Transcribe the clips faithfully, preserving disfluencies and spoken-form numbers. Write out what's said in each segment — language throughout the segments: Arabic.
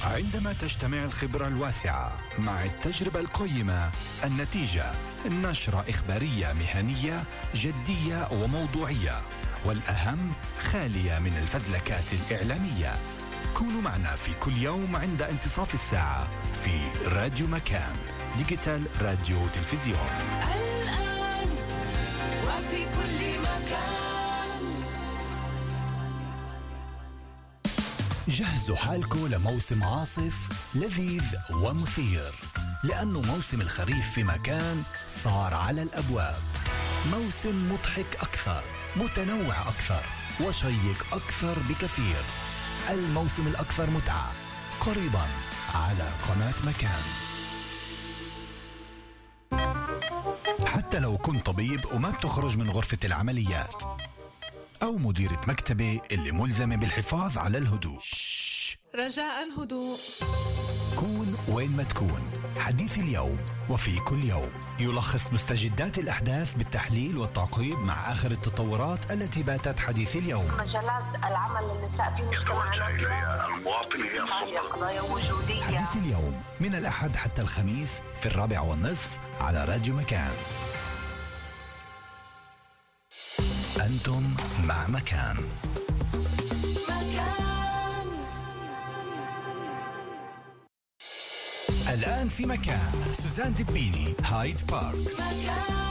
عندما تجتمع الخبرة الواسعة مع التجربة القيمة، النتيجة نشرة إخبارية مهنية جدية وموضوعية، والأهم خالية من الفزلكات الإعلامية. كونوا معنا في كل يوم عند انتصاف الساعة في راديو مكان، ديجيتال راديو تلفزيون، الآن وفي كل مكان. جهزوا حالكم لموسم عاصف لذيذ ومثير، لأنه موسم الخريف في مكان صار على الأبواب. موسم مضحك أكثر، متنوع أكثر، وشيق أكثر بكثير. الموسم الأكثر متعة قريبا على قناة مكان. حتى لو كنت طبيب وما بتخرج من غرفة العمليات، أو مديرة مكتبة اللي ملزمة بالحفاظ على الهدوء، رجاء هدوء. كون وين ما تكون. حديث اليوم وفي كل يوم يلخص مستجدات الأحداث بالتحليل والتعقيب مع آخر التطورات التي باتت حديث اليوم. مجالات العمل النساء في مجتمعنا المواطن هي قضايا وجودية. حديث اليوم من الأحد حتى الخميس في الرابع والنصف على راديو مكان. أنتم مع مكان. مكان الآن في مكان سوزان دبيني، هايد بارك. مكان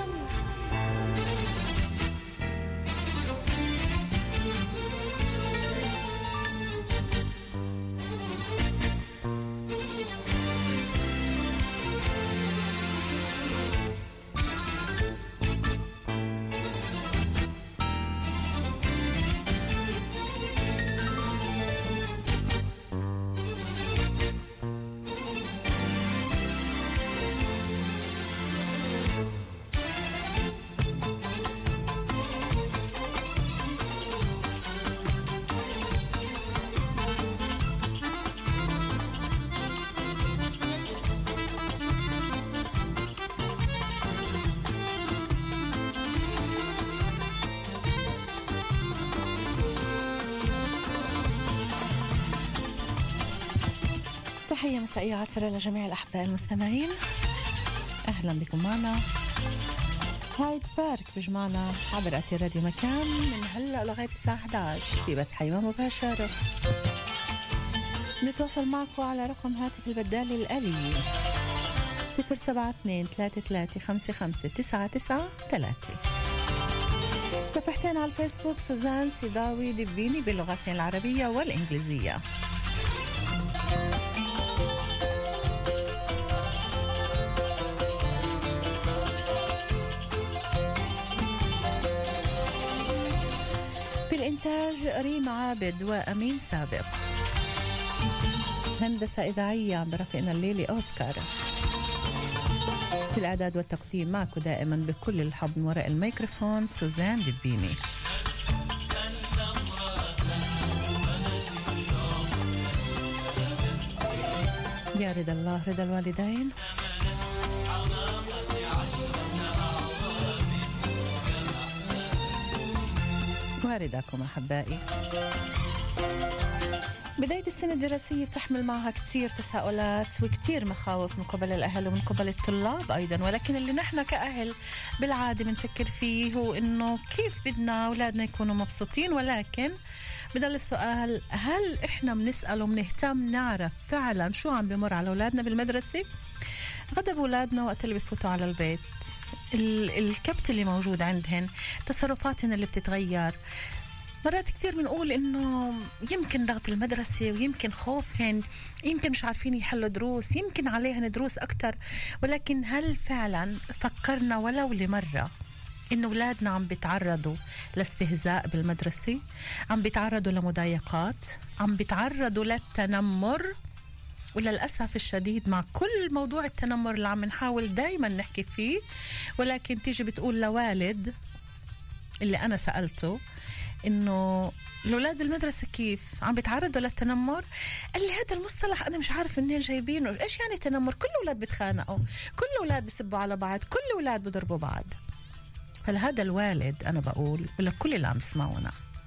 تحية مسائية عطرة لجميع الأحباء المستمعين. أهلا بكم معنا. هايد بارك بجمعنا عبر أثير راديو مكان من هلأ لغاية الساعة إحدى عشر في بث حي مباشرة. نتواصل معكم على رقم هاتف البدال الآلي صفر سبعة اثنين ثلاثة ثلاثة خمسة خمسة تسعة تسعة ثلاثة. صفحتين على الفيسبوك سوزان سيداوي دبيني باللغتين العربية والإنجليزية. إنتاج ريم عابد وأمين سابق. هندسة إذاعية عم برفقنا الليلي أوسكار. في الإعداد والتقديم معكم دائما بكل الحب من وراء الميكروفون سوزان دبيني. يا رضا الله رضا الوالدين. واردكم أحبائي. بداية السنة الدراسية بتحمل معها كتير تساؤلات وكتير مخاوف من قبل الأهل ومن قبل الطلاب أيضا، ولكن اللي نحن كأهل بالعادة بنفكر فيه هو إنه كيف بدنا أولادنا يكونوا مبسوطين، ولكن بدل السؤال هل إحنا بنسأل وبنهتم نعرف فعلا شو عم بمر على أولادنا بالمدرسة؟ غضب أولادنا وقت اللي بفوتوا على البيت، الكبت اللي موجود عندهن، تصرفاتهن اللي بتتغير. مرات كتير بنقول إنه يمكن ضغط المدرسة ويمكن خوفهن، يمكن مش عارفين يحلوا دروس، يمكن عليهن دروس أكتر، ولكن هل فعلا فكرنا ولو لمرة إنه أولادنا عم بيتعرضوا لاستهزاء بالمدرسة، عم بيتعرضوا لمضايقات، عم بيتعرضوا للتنمر؟ وللأسف الشديد مع كل موضوع التنمر اللي عم نحاول دايما نحكي فيه، ولكن تيجي بتقول لوالد اللي أنا سألته إنه الأولاد بالمدرسة كيف عم بيتعرضوا للتنمر، قال لي هذا المصطلح أنا مش عارف منين جايبينه، إيش يعني تنمر؟ كل الأولاد بيتخانقوا، كل الأولاد بيسبوا على بعض، كل الأولاد بيضربوا بعض. فلهذا الوالد أنا بقول ولكل اللي عم يسمعونا،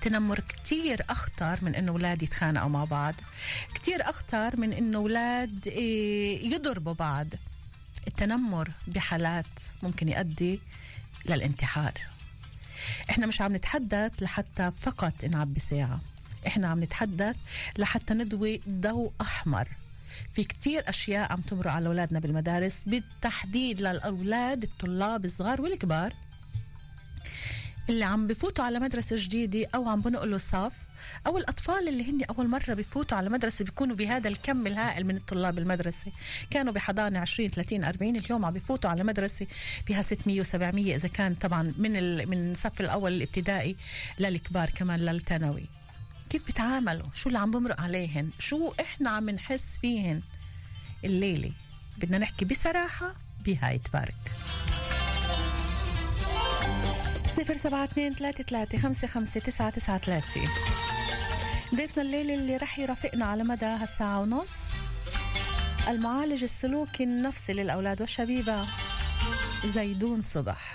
التنمر كتير أخطر من إنه أولاد يتخانقوا مع بعض، كتير أخطر من إنه أولاد يضربوا بعض. التنمر بحالات ممكن يؤدي للانتحار. إحنا مش عم نتحدث لحتى فقط نعبي ساعة، إحنا عم نتحدث لحتى ندوي ضوء أحمر في كتير أشياء عم تمر على أولادنا بالمدارس، بالتحديد للأولاد الطلاب الصغار والكبار اللي عم بفوتوا على مدرسة جديدة أو عم بنقلوا صف، أو الأطفال اللي هن أول مرة بفوتوا على مدرسة بيكونوا بهذا الكم الهائل من الطلاب المدرسة. كانوا بحضانة عشرين ثلاثين أربعين، اليوم عم بفوتوا على مدرسة فيها ستمية وسبعمية، إذا كان طبعا من ال... من الصف الأول الابتدائي للكبار كمان للثانوي. كيف بتعاملوا؟ شو اللي عم بمرق عليهن؟ شو إحنا عم نحس فيهن الليلة؟ بدنا نحكي بصراحة بهاي تبارك. صفر سبعة اثنين ثلاثة ثلاثة خمسة خمسة تسعة تسعة ثلاثة. ضيفنا الليلة اللي رح يرافقنا على مدى هالساعة ونص المعالج السلوكي النفسي للأولاد والشبيبة زيدون صبح.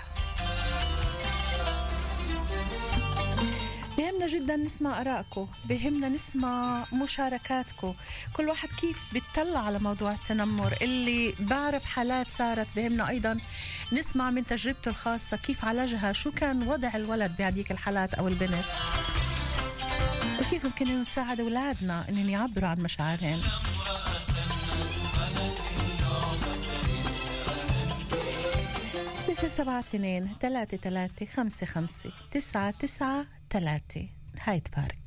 بهمنا جدا نسمع آرائكم، بهمنا نسمع مشاركاتكم، كل واحد كيف بيطلع على موضوع التنمر. اللي بعرف حالات صارت بهمنا أيضا نسمع من تجربته الخاصة كيف عالجها، شو كان وضع الولد بهذيك الحالات أو البنت، وكيف ممكن نساعد أولادنا إنهم يعبروا عن مشاعرهم. صفر سبعة اثنين ثلاثة ثلاثة خمسة خمسة تسعة تسعة ثلاثة. هاي تبارك.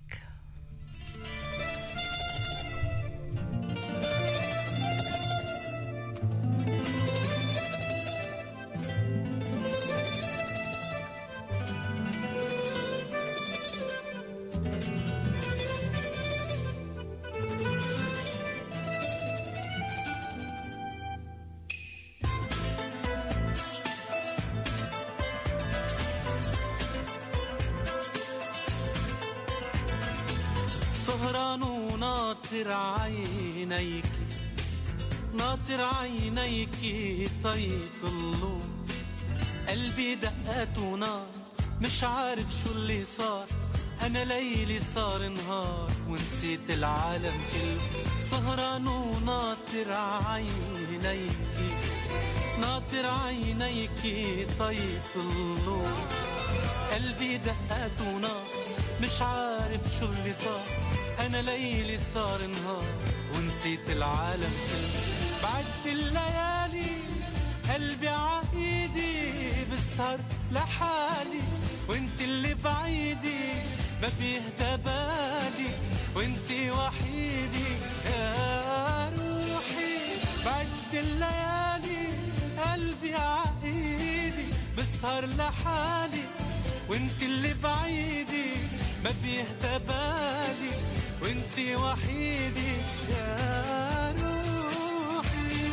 سهران وناطر عينيك، ناطر عينيك طيطلوا قلبي دقات ونار، مش عارف شو اللي صار، أنا ليلي صار نهار ونسيت العالم كله. سهران وناطر عينيك، ناطر عينيك طيطلوا قلبي دقات ونار، مش عارف شو اللي صار، أنا ليلي صار نهار ونسيت العالم كله. بعد الليالي قلبي عايدي بسهر لحالي، وانت اللي بعيدي ما فيه تبالي، وانت وحيدي يا روحي. بعد الليالي قلبي عايدي بسهر لحالي، وانت اللي بعيدي ما فيه تبالي، وانت وحيدي يا روحي.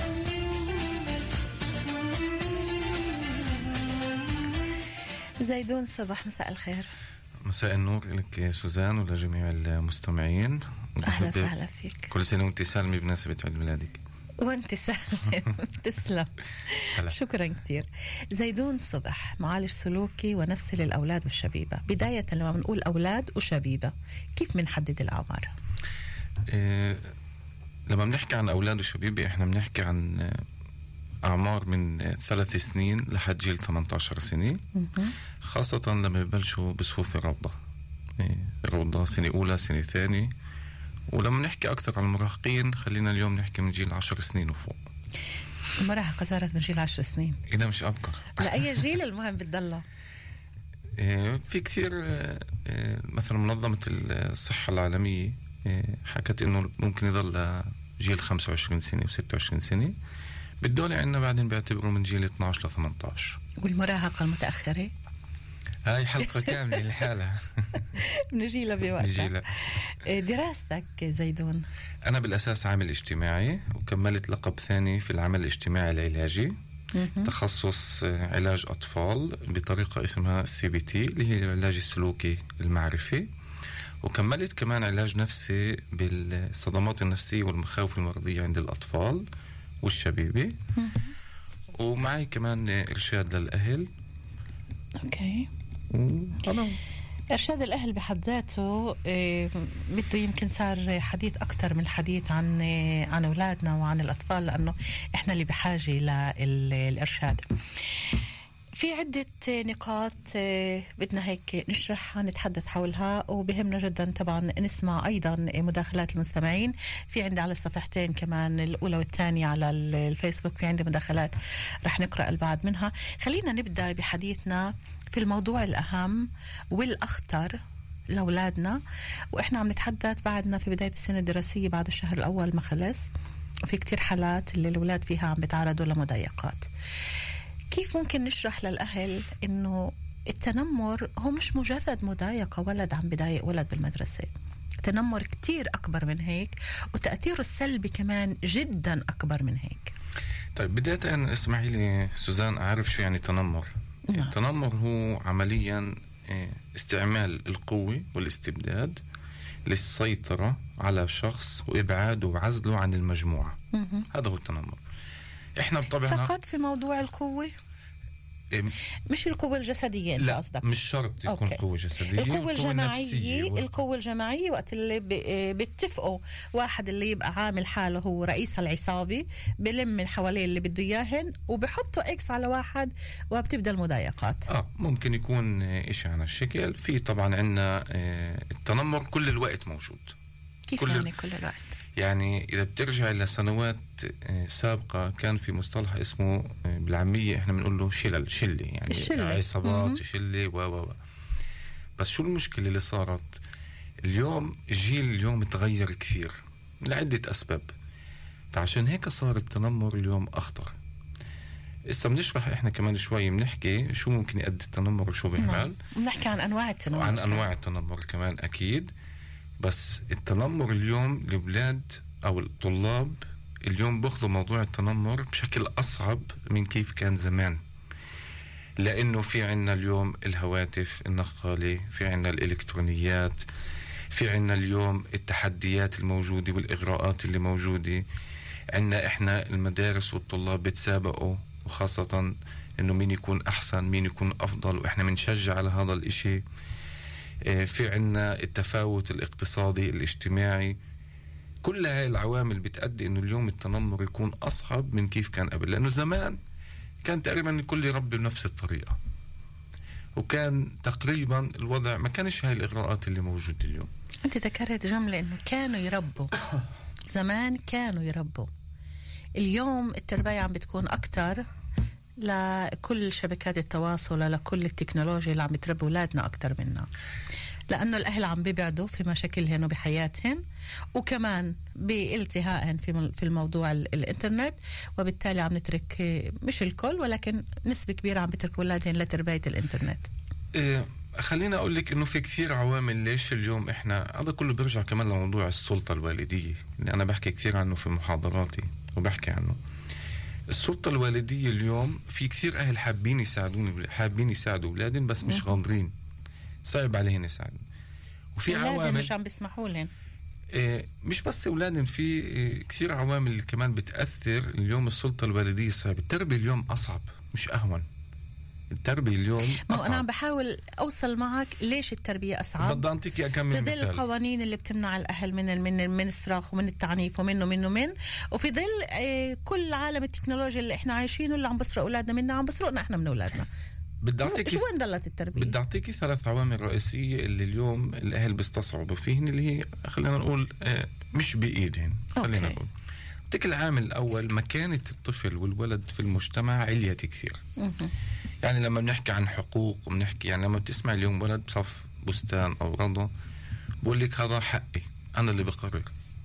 زيدون صبح، مساء الخير. مساء النور لك سوزان ولجميع المستمعين. أهلا وسهلا فيك. كل سنة وانت سالمة بمناسبة عيد ميلادك. وانت سالم. تسلم. شكرا كتير. زيدون صبح، معالج سلوكي ونفسي للأولاد والشبيبة. بداية لما بنقول أولاد وشبيبة كيف بنحدد الأعمار؟ إيه لما بنحكي عن أولاد وشبيبة احنا بنحكي عن أعمار من ثلاث سنين لحد جيل ثمانية عشر سنة، خاصة لما يبلشوا بصفوف الروضة. إيه الروضة سنة أولى سنة ثانية، ولما نحكي أكثر عن المراهقين خلينا اليوم نحكي من جيل عشر سنين وفوق. المراهقة صارت من جيل عشر سنين، إذا مش أبكر. لأي جيل المهم بتضلها؟ في كثير، مثلا منظمة الصحة العالمية حكت إنه ممكن يضل جيل خمسة وعشرين سنة وستة وعشرين سنة، بالدولة عندنا بعدين بيعتبروا من جيل اثني عشر ل ثمانية عشر. والمراهقة المتأخرة هاي حلقة كاملة لحالها. نجيلها بوقتها. دراستك زيدون؟ أنا بالأساس عامل اجتماعي، وكملت لقب ثاني في العمل الاجتماعي العلاجي، تخصص علاج أطفال بطريقة اسمها سي بي تي اللي هي العلاج السلوكي المعرفي، وكملت كمان علاج نفسي بالصدمات النفسية والمخاوف المرضية عند الأطفال والشبيبة، ومعي كمان إرشاد للأهل. أوكي. وأنا إرشاد الأهل بحد ذاته آه، بده يمكن صار حديث أكتر من الحديث عن آه، عن أولادنا وعن الأطفال، لأنه إحنا اللي بحاجة للإرشاد. في عدة نقاط آه، بدنا هيك نشرحها نتحدث حولها، وبهمنا جدا طبعا نسمع أيضا مداخلات المستمعين. في عندي على الصفحتين كمان الأولى والثانية على الفيسبوك في عندي مداخلات رح نقرأ البعض منها. خلينا نبدأ بحديثنا في الموضوع الأهم والأخطر لأولادنا، وإحنا عم نتحدث بعدنا في بداية السنة الدراسية، بعد الشهر الأول ما خلص، وفي كتير حالات اللي الأولاد فيها عم بيتعرضوا لمضايقات. كيف ممكن نشرح للأهل إنه التنمر هو مش مجرد مضايقة ولد عم بضايق ولد بالمدرسة؟ التنمر كتير أكبر من هيك، وتأثيره السلبي كمان جدا أكبر من هيك. طيب بداية اسمحي لي سوزان أعرف شو يعني تنمر. نعم. التنمر هو عمليا استعمال القوة والاستبداد للسيطرة على شخص وإبعاده وعزله عن المجموعة. مه. هذا هو التنمر. إحنا بطبعنا فقط في موضوع القوة، إيه، مش القوة الجسدية. لا قصدك مش شرط تكون أوكي. قوة جسدية. القوة الجماعية، و... القوة الجماعية وقت اللي ب- بيتفقوا واحد اللي يبقى عامل حاله هو رئيس العصابة، بلم من حواليه اللي بده اياهن وبحطوا اكس على واحد وبتبدأ المضايقات. اه ممكن يكون إشي على الشكل. في طبعا عندنا التنمر كل الوقت موجود. كيف كل يعني كل الوقت؟ يعني إذا بترجع لسنوات سابقة كان في مصطلح اسمه بالعامية إحنا بنقول له شلل شلة، يعني الشلة. عصابات مم. شلة و و و بس شو المشكلة اللي صارت اليوم؟ الجيل اليوم تغير كثير لعدة أسباب، فعشان هيك صار التنمر اليوم أخطر. إسا بنشرح إحنا كمان شوي بنحكي شو ممكن يؤدي التنمر وشو بيعمل. بنحكي عن أنواع التنمر وعن كمان. أنواع التنمر كمان أكيد. بس التنمر اليوم الأولاد أو الطلاب اليوم بياخذوا موضوع التنمر بشكل أصعب من كيف كان زمان، لأنه في عنا اليوم الهواتف النقالة، في عنا الإلكترونيات، في عنا اليوم التحديات الموجودة والإغراءات اللي موجودة. عنا إحنا المدارس والطلاب بتسابقوا، وخاصة إنه مين يكون أحسن مين يكون أفضل، وإحنا بنشجع على هذا الإشي. في عنا التفاوت الاقتصادي الاجتماعي. كل هاي العوامل بتأدي إنه اليوم التنمر يكون أصعب من كيف كان قبل، لأنه زمان كان تقريبا الكل يربي بنفس الطريقة، وكان تقريبا الوضع ما كانش هاي الإغراءات اللي موجودة اليوم. أنت ذكرت جملة إنه كانوا يربوا زمان، كانوا يربوا. اليوم التربية عم بتكون أكتر لكل شبكات التواصل، لكل التكنولوجيا اللي عم تربي أولادنا أكتر منا، لأنه الأهل عم بيبعدوا في مشاكلهن وبحياتهن، وكمان بالتهائهن في في الموضوع الإنترنت، وبالتالي عم نترك مش الكل ولكن نسبة كبيرة عم بترك أولادهن لتربية الإنترنت. إيه خلينا أقول لك إنه في كثير عوامل ليش اليوم إحنا هذا كله بيرجع كمان لموضوع السلطة الوالدية اللي أنا بحكي كثير عنه في محاضراتي وبحكي عنه. السلطة الوالدية اليوم في كثير أهل حابين يساعدون حابين يساعدوا أولادهم بس مش غاضرين، صعب عليهم يساعدوا. وفي عوامل مش عم بيسمحوا لهم. إيه مش بس أولادهم، في إيه كثير عوامل كمان بتأثر. اليوم السلطة الوالدية صعب. التربية اليوم أصعب مش أهون. التربية اليوم ما أصعب. أنا عم بحاول أوصل معك ليش التربية أصعب. بدي أنطيك أكمل في ظل مثال. القوانين اللي بتمنع الأهل من من من الصراخ ومن التعنيف ومن ومن ومن وفي ظل آه كل عالم التكنولوجيا اللي إحنا عايشينه، اللي عم بسرق أولادنا منا عم بسرقنا إحنا من أولادنا. بدي أعطيك شو وين ضلت التربية؟ بدي أعطيك ثلاث عوامل رئيسية اللي اليوم الأهل بيستصعبوا فيهن، اللي هي خلينا نقول آه مش بإيدهن. خلينا نقول أعطيك العامل الأول، مكانة الطفل والولد في المجتمع عليت كثير. يعني لما بنحكي عن حقوق وبنحكي، يعني لما بتسمع اليوم ولد بصف بستان أو رضا بقول لك هذا حقي، أنا اللي بقرر،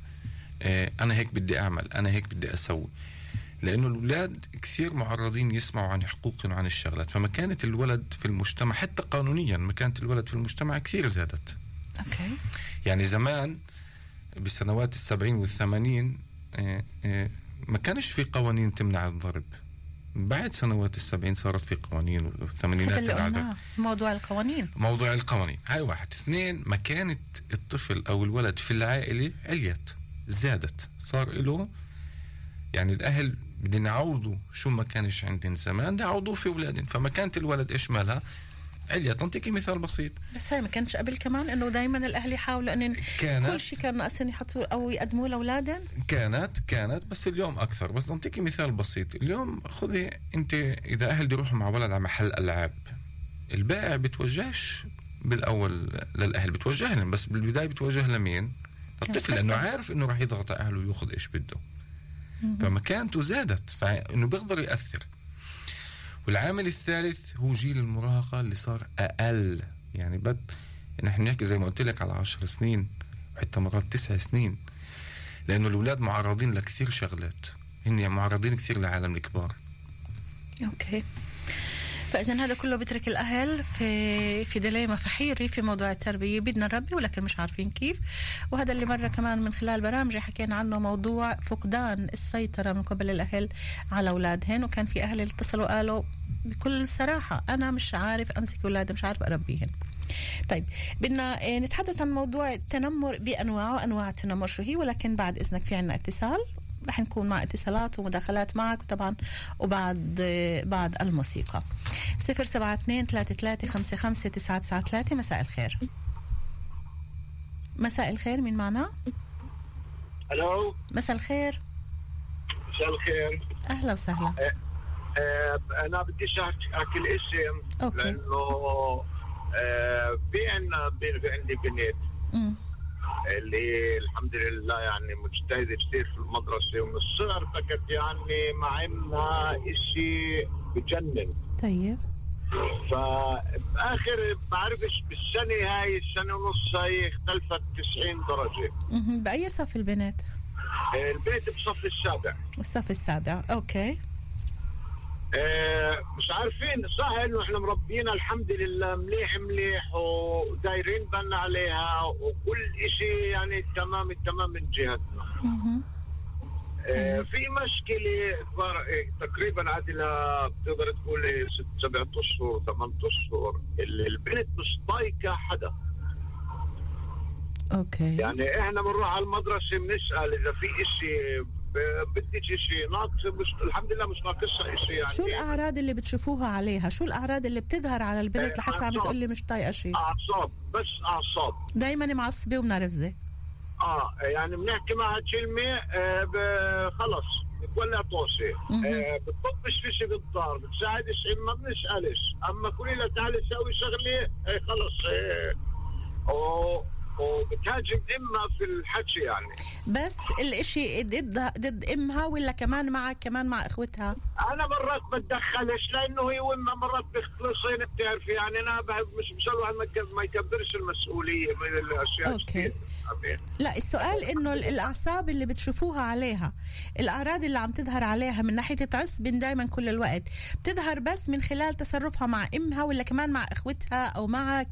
آه أنا هيك بدي أعمل، أنا هيك بدي أسوي. لأنه الأولاد كثير معرضين يسمعوا عن حقوقهم وعن الشغلات، فمكانة الولد في المجتمع حتى قانونيا مكانة الولد في المجتمع كثير زادت. أوكي. يعني زمان بسنوات السبعين والثمانين آه آه ما كانش في قوانين تمنع الضرب. بعد سنوات السبعين صارت في قوانين، والثمانينات العادة. موضوع القوانين موضوع القوانين هاي واحد. اثنين، مكانة الطفل أو الولد في العائلة عليت زادت، صار له يعني الأهل بدنا نعوضوا شو ما كانش عندن زمان، نعوضوا في أولادن. فمكانة الولد إيش مالها؟ عليت. نعطيكي مثال بسيط. بس هاي ما كانش قبل كمان انه دائما الاهل يحاولوا ان كانت كل شيء كان ناقصين يحطوا او يقدموا لاولادهم. كانت كانت بس اليوم اكثر. بس نعطيكي مثال بسيط. اليوم خذي انت اذا اهل بيروحوا مع ولد على محل العاب، البائع بتوجهش بالاول للاهل، بتوجه لهم، بس بالبدايه بتوجه لمين؟ الطفل، لانه عارف انه راح يضغط على اهله وياخذ ايش بده. فمكانته زادت، فانه بيقدر ياثر. والعامل الثالث هو جيل المراهقه اللي صار اقل. يعني بد نحن نحكي زي ما قلت لك على عشر سنين وحتى مرات تسع سنين، لانه الاولاد معرضين لكثير شغلات، هن معرضين كثير لعالم الكبار. اوكي، فإذا هذا كله بترك الأهل في في ديليما فحيري في موضوع التربية. بدنا نربي ولكن مش عارفين كيف. وهذا اللي مرة كمان من خلال برامج حكينا عنه، موضوع فقدان السيطرة من قبل الأهل على أولادهن. وكان في أهل اللي اتصلوا قالوا بكل صراحة أنا مش عارف أمسك أولادي، مش عارف أربيهن. طيب بدنا نتحدث عن موضوع التنمر بأنواعه، أنواع التنمر شو هي، ولكن بعد إذنك في عنا اتصال رح نكون مع اتصالات ومداخلات معك طبعا وبعد بعد الموسيقى. صفر سبعة اثنين ثلاثة ثلاثة خمسة خمسة تسعة تسعة ثلاثة. مساء الخير. مساء الخير، مين معنا؟ الو، مساء الخير. مساء الخير، اهلا وسهلا. أه أه انا بديش احكي الاسم أوكي. لانه أه في عندنا في عندي بنت امم اللي الحمد لله يعني مجتهده كثير في المدرسه، ومن الصغر فكت يعني مع انها اشي بجنن. طيب فباخر بعرفش بالسنه هاي السنه ونص هاي اختلفت تسعين درجه. امم باي صف البنات؟ البيت بصف السابع. الصف السابع. اوكي. آه مش عارفين صح انه احنا مربينا الحمد لله مليح مليح ودايرين بالنا عليها وكل اشي يعني تمام التمام من جهتنا. آه في مشكلة تقريبا عادلة بتقدر تقول ست سبعة اشهر ثمان اشهر، البنت مش طايقة حدا. اوكي. يعني احنا بنروح على المدرسة بنسأل اذا في اشي بدك شيء ناقص، مش الحمد لله مش ناقصها شيء. يعني شو الأعراض اللي بتشوفوها عليها؟ شو الأعراض اللي بتظهر على البنت لحتى عم تقول لي مش طايقة شيء؟ أعصاب، بس أعصاب دايما معصبة ومنرفزة. اه يعني بنحكي معها كلمة آه خلص بتولع طوشة. آه بتطبش في شيء بالدار، بتساعدش ما بنسألش، أما كل لها تعالي سوي شغلة آه خلص آه أو وبتهاجم امها في الحكي. يعني بس الاشي ضد ضد امها ولا كمان معك كمان مع اخوتها؟ انا مرات بتدخلش لانه هي وامها مرات بيخلصين بتعرفي. يعني انا بحب مش مش الواحد ما يكبرش المسؤوليه من الاشياء. اوكي. لا السؤال انه الاعصاب اللي بتشوفوها عليها، الاعراض اللي عم تظهر عليها من ناحيه تعصب دائما كل الوقت، بتظهر بس من خلال تصرفها مع امها ولا كمان مع اخوتها او معك؟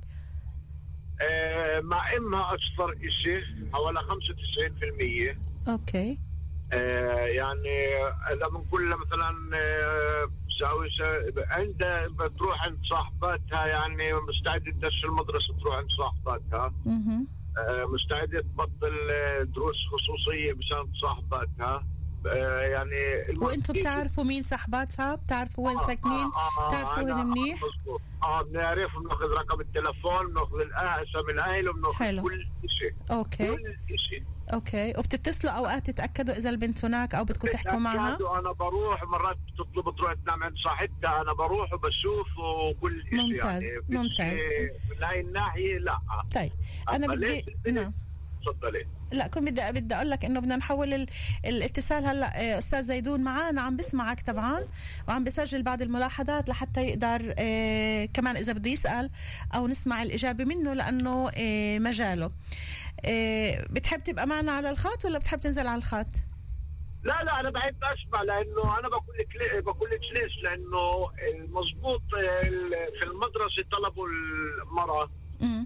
آه مع امها اكثر شيء حوالي خمسة وتسعين بالمية. اوكي. آه يعني اذا بنقول مثلا آه بساوي عندها بتروح عند صاحباتها، يعني مستعده تدش المدرسه تروح عند صاحباتها. اها. آه مستعده تبطل دروس خصوصيه مشان صاحباتها. آه يعني وانتم بتعرفوا مين صاحباتها؟ بتعرفوا وين آه ساكنين؟ آه آه بتعرفوا وين منيح؟ اه بنعرف، بناخذ رقم التلفون، بناخذ اسم الاهل، وبناخذ كل شيء. اوكي. كل شيء. اوكي. وبتتصلوا اوقات تتاكدوا اذا البنت هناك او بدكم تحكوا معها؟ انا بروح مرات بتطلب تروح تنام عند صاحبتها، انا بروح وبشوف وكل شيء. ممتاز. يعني ممتاز. من هاي الناحيه لا. طيب انا بدي نعم تفضلي. لا كنت بدي بدي اقول لك انه بدنا نحول ال... الاتصال. هلا استاذ زيدون معنا عم بسمعك طبعا وعم بسجل بعض الملاحظات لحتى يقدر اه كمان اذا بده يسال او نسمع الاجابه منه لانه اه مجاله. اه بتحب تبقى معنا على الخط ولا بتحب تنزل على الخط؟ لا لا انا بحب اسمع، لانه انا بقول لك بقول لك ليش، لانه المضبوط في المدرسه طلبوا المراه امم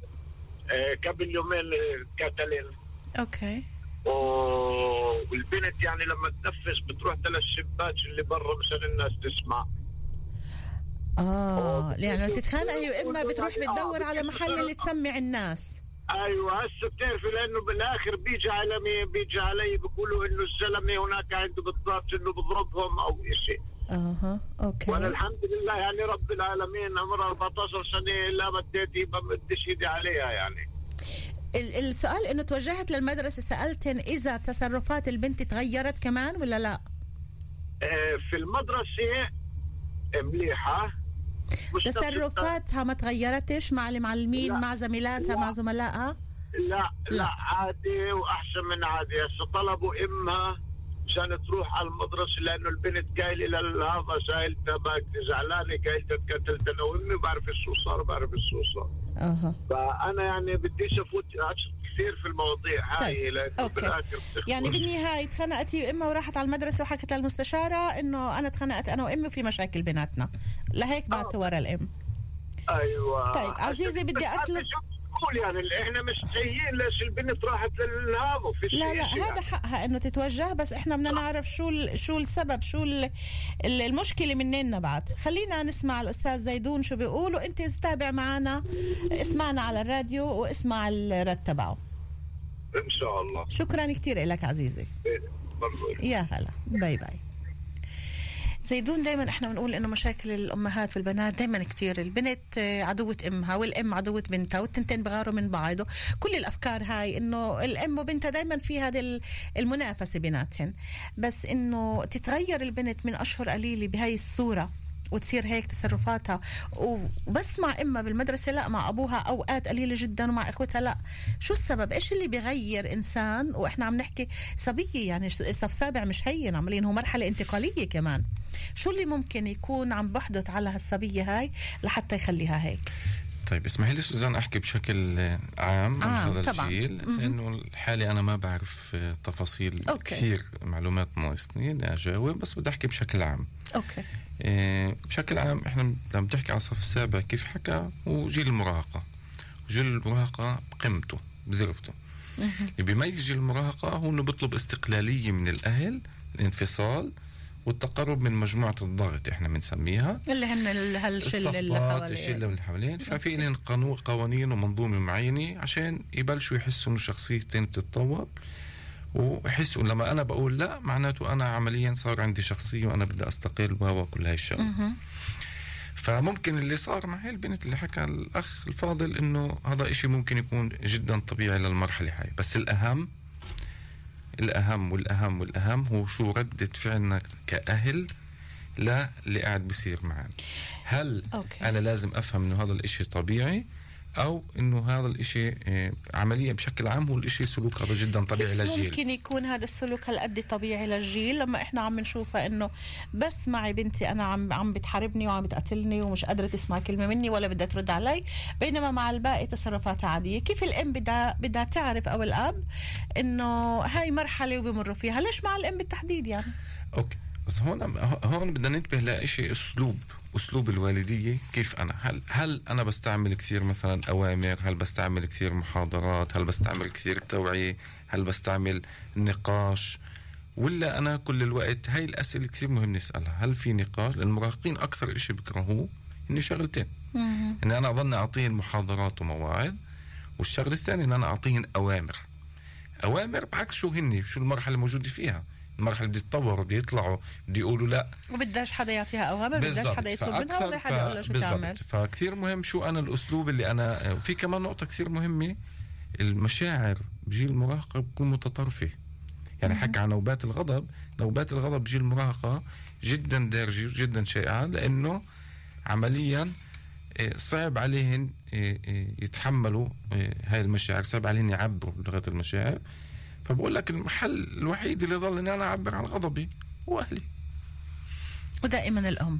قبل يومين كاتلين. اوكي. والبنت يعني لما تنفس بتروح ثلاث شباك اللي برا مشان الناس تسمع. اه يعني تتخانق هي واما بتروح بتدور على محل اللي تسمع الناس. ايوه هسه بتعرفي لانه بالاخر بيجي على بيجي علي بيقولوا انه الزلمه هناك عنده بالضبط انه بضربهم او شيء. اها اوكي. وانا الحمد لله يعني رب العالمين عمرها أربعة عشر سنه لا مديت ما بديش ايدي عليها يعني. ال- السؤال انه توجهت للمدرسه سالتن اذا تصرفات البنت تغيرت كمان ولا لا؟ آه، في المدرسه مليحه. مش نفس تصرفاتها ما تغيرتش مع المعلمين لا. مع زميلاتها لا. مع زملائها؟ لا لا, لا. لا عادي واحسن من عادي. هسه طلبوا امها عشان تروح على المدرسه لانه البنت قايله لهذا سائلتها باك زعلانه قايلتها تقتلت انا وامي بعرف شو صار بعرف شو صار. اها فانا يعني بديش افوت كثير في المواضيع هاي طيب. لانه أوكي. بالاخر بتخبص. يعني بالنهايه تخانقتي امها وراحت على المدرسه وحكت للمستشاره انه انا تخانقت انا وامي وفي مشاكل بيناتنا، لهيك بعتوا ورا الام. ايوه. طيب عزيزي بدي اطلب قول يعني احنا مش سيئين ليش البنت راحت للهذا في لا لا شيء هذا يعني. حقها انه تتوجه، بس احنا بدنا نعرف شو ال- شو السبب شو ال- ال- المشكله مننا بعد. خلينا نسمع الاستاذ زيدون شو بيقول، وانت تتابع معنا اسمعنا على الراديو واسمع الرد تبعه. ان شاء الله. شكرا كثير لك عزيزي. برضو. يا هلا باي باي. زيدون دايما احنا بنقول انه مشاكل الامهات والبنات دايما كتير، البنت عدوة امها والام عدوة بنتها والتنتين بغاروا من بعض، كل الافكار هاي انه الام وبنتها دايما في هذه المنافسة بيناتهن، بس انه تتغير البنت من اشهر قليلة بهاي الصورة وتصير هيك تصرفاتها وبس مع امها بالمدرسه لا مع ابوها اوقات قليله جدا ومع اخوتها لا. شو السبب؟ ايش اللي بيغير انسان واحنا عم نحكي صبيه يعني صف سابع مش هين عملين هو مرحله انتقاليه كمان، شو اللي ممكن يكون عم بحدث على هالصبيه هاي لحتى يخليها هيك؟ طيب اسمحي لي سوزان احكي بشكل عام عن آه هذا طبعاً. الجيل، لانه الحالي انا ما بعرف تفاصيل أوكي. كثير، معلومات ناقصني اني اجاوب، بس بدي احكي بشكل عام. اوكي. إيه بشكل عام احنا لما بتحكي على الصف السابع كيف حكى وجيل المراهقه، جيل المراهقه قيمته بذربته. اللي بيميز جيل المراهقه هو انه بيطلب استقلاليه من الاهل، الانفصال والتقرب من مجموعه الضغط احنا بنسميها اللي هن ال- هالشله اللي الصفات الشله اللي حوالين. ففي لهم قانون قوانين ومنظومه معينه عشان يبلشوا يحسوا انه شخصيتين بتتطور، ويحسوا لما انا بقول لا معناته انا عمليا صار عندي شخصيه وانا بدي استقل وكل هاي الشغله. فممكن اللي صار مع هاي البنت اللي حكى الاخ الفاضل انه هذا إشي ممكن يكون جدا طبيعي للمرحله هاي، بس الاهم الأهم والأهم والأهم هو شو ردة فعلنا كأهل لا اللي قاعد بيصير معنا. هل أوكي. أنا لازم أفهم إنه هذا الإشي طبيعي أو إنه هذا الإشي إيه عمليا بشكل عام هو الإشي سلوك هذا جدا طبيعي كيف للجيل. ممكن يكون هذا السلوك هالقد طبيعي للجيل لما احنا عم نشوفها انه بس معي بنتي انا عم عم بتحاربني وعم بتقتلني ومش قادره تسمع كلمه مني ولا بدها ترد علي، بينما مع الباقي تصرفاتها عاديه. كيف الام بدها بدها تعرف او الاب انه هاي مرحله وبمروا فيها؟ ليش مع الام بالتحديد يعني؟ اوكي بس هون هون بدنا ننتبه لشيء، اسلوب اسلوب الوالديه كيف انا هل هل انا بستعمل كثير مثلا اوامر، هل بستعمل كثير محاضرات، هل بستعمل كثير توعيه، هل بستعمل نقاش، ولا انا كل الوقت؟ هاي الاسئله كثير مهم نسالها. هل في نقاش؟ المراهقين اكثر شيء بيكرهوه اني شغلتين، ان انا اظن اعطيهم محاضرات ومواعظ، والشغله الثانيه ان انا اعطيهم اوامر اوامر بعكس شو هني شو المرحله الموجوده فيها. المرحله بدي يتطوروا بدي يطلعوا بدي يقولوا لا، وبداش حدا يعطيها اوامر، بداش حدا يطلب منها ولا حدا يقول لها شو تعمل. فكثير مهم شو انا الاسلوب اللي انا. في كمان نقطه كثير مهمه، المشاعر بجيل المراهقه بتكون متطرفه. يعني حكى عن نوبات الغضب، نوبات الغضب بجيل المراهقه جدا دارجه جدا شائعه، لانه عمليا صعب عليهن يتحملوا هاي المشاعر، صعب عليهن يعبروا بلغه المشاعر. فبقول لك المحل الوحيد اللي ضل اني انا اعبر عن غضبي هو اهلي، ودائما الام.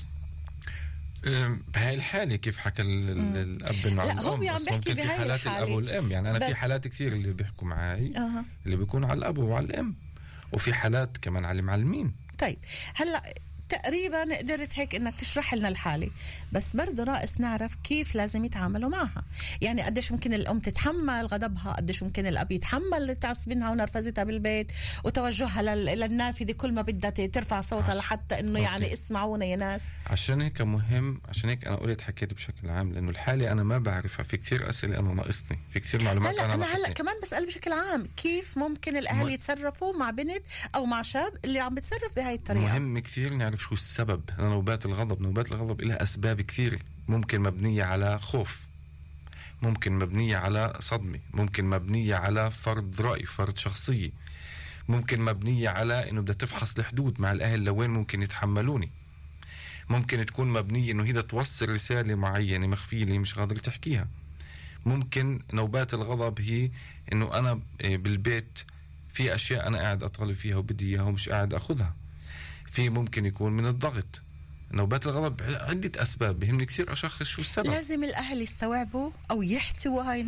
بهاي الحالة كيف حكى الأب إنه لا هو عم بحكي بهاي حالات الحالة الأب والأم. يعني أنا في بس... حالات كثير اللي بيحكوا معي أه. اللي بيكون على الأب وعلى الأم، وفي حالات كمان على المعلمين. طيب هلا تقريبا قدرت هيك انك تشرح لنا الحالة، بس برضه ناقص نعرف كيف لازم يتعاملوا معها. يعني قديش ممكن الام تتحمل غضبها، قديش ممكن الاب يتحمل تعصبينها ونرفزتها بالبيت وتوجهها للنافذة كل ما بدها ترفع صوتها لحتى انه أوكي. يعني اسمعونا يا ناس. عشان هيك مهم، عشان هيك انا قلت حكيت بشكل عام، لانه الحالة انا ما بعرفها. في كثير اسئلة انا ناقصني، في كثير معلومات هلا انا انا ناقصني. هلا كمان بسأل بشكل عام كيف ممكن الاهل م... يتصرفوا مع بنت او مع شاب اللي عم بتصرف بهاي الطريقة. مهم كثير نعرف نعرف شو السبب لنوبات الغضب. نوبات الغضب لها أسباب كثيرة، ممكن مبنية على خوف، ممكن مبنية على صدمة، ممكن مبنية على فرض رأي، فرض شخصية، ممكن مبنية على إنه بدها تفحص الحدود مع الأهل لوين ممكن يتحملوني، ممكن تكون مبنية إنه هي توصل رسالة معينة مخفية اللي مش قادر تحكيها. ممكن نوبات الغضب هي إنه أنا بالبيت في أشياء أنا قاعد أطالب فيها وبدي إياها ومش قاعد أخذها. في ممكن يكون من الضغط. نوبات الغضب عدة أسباب، بهمني كثير أشخص شو السبب. لازم الأهل يستوعبوا أو يحتووا هاي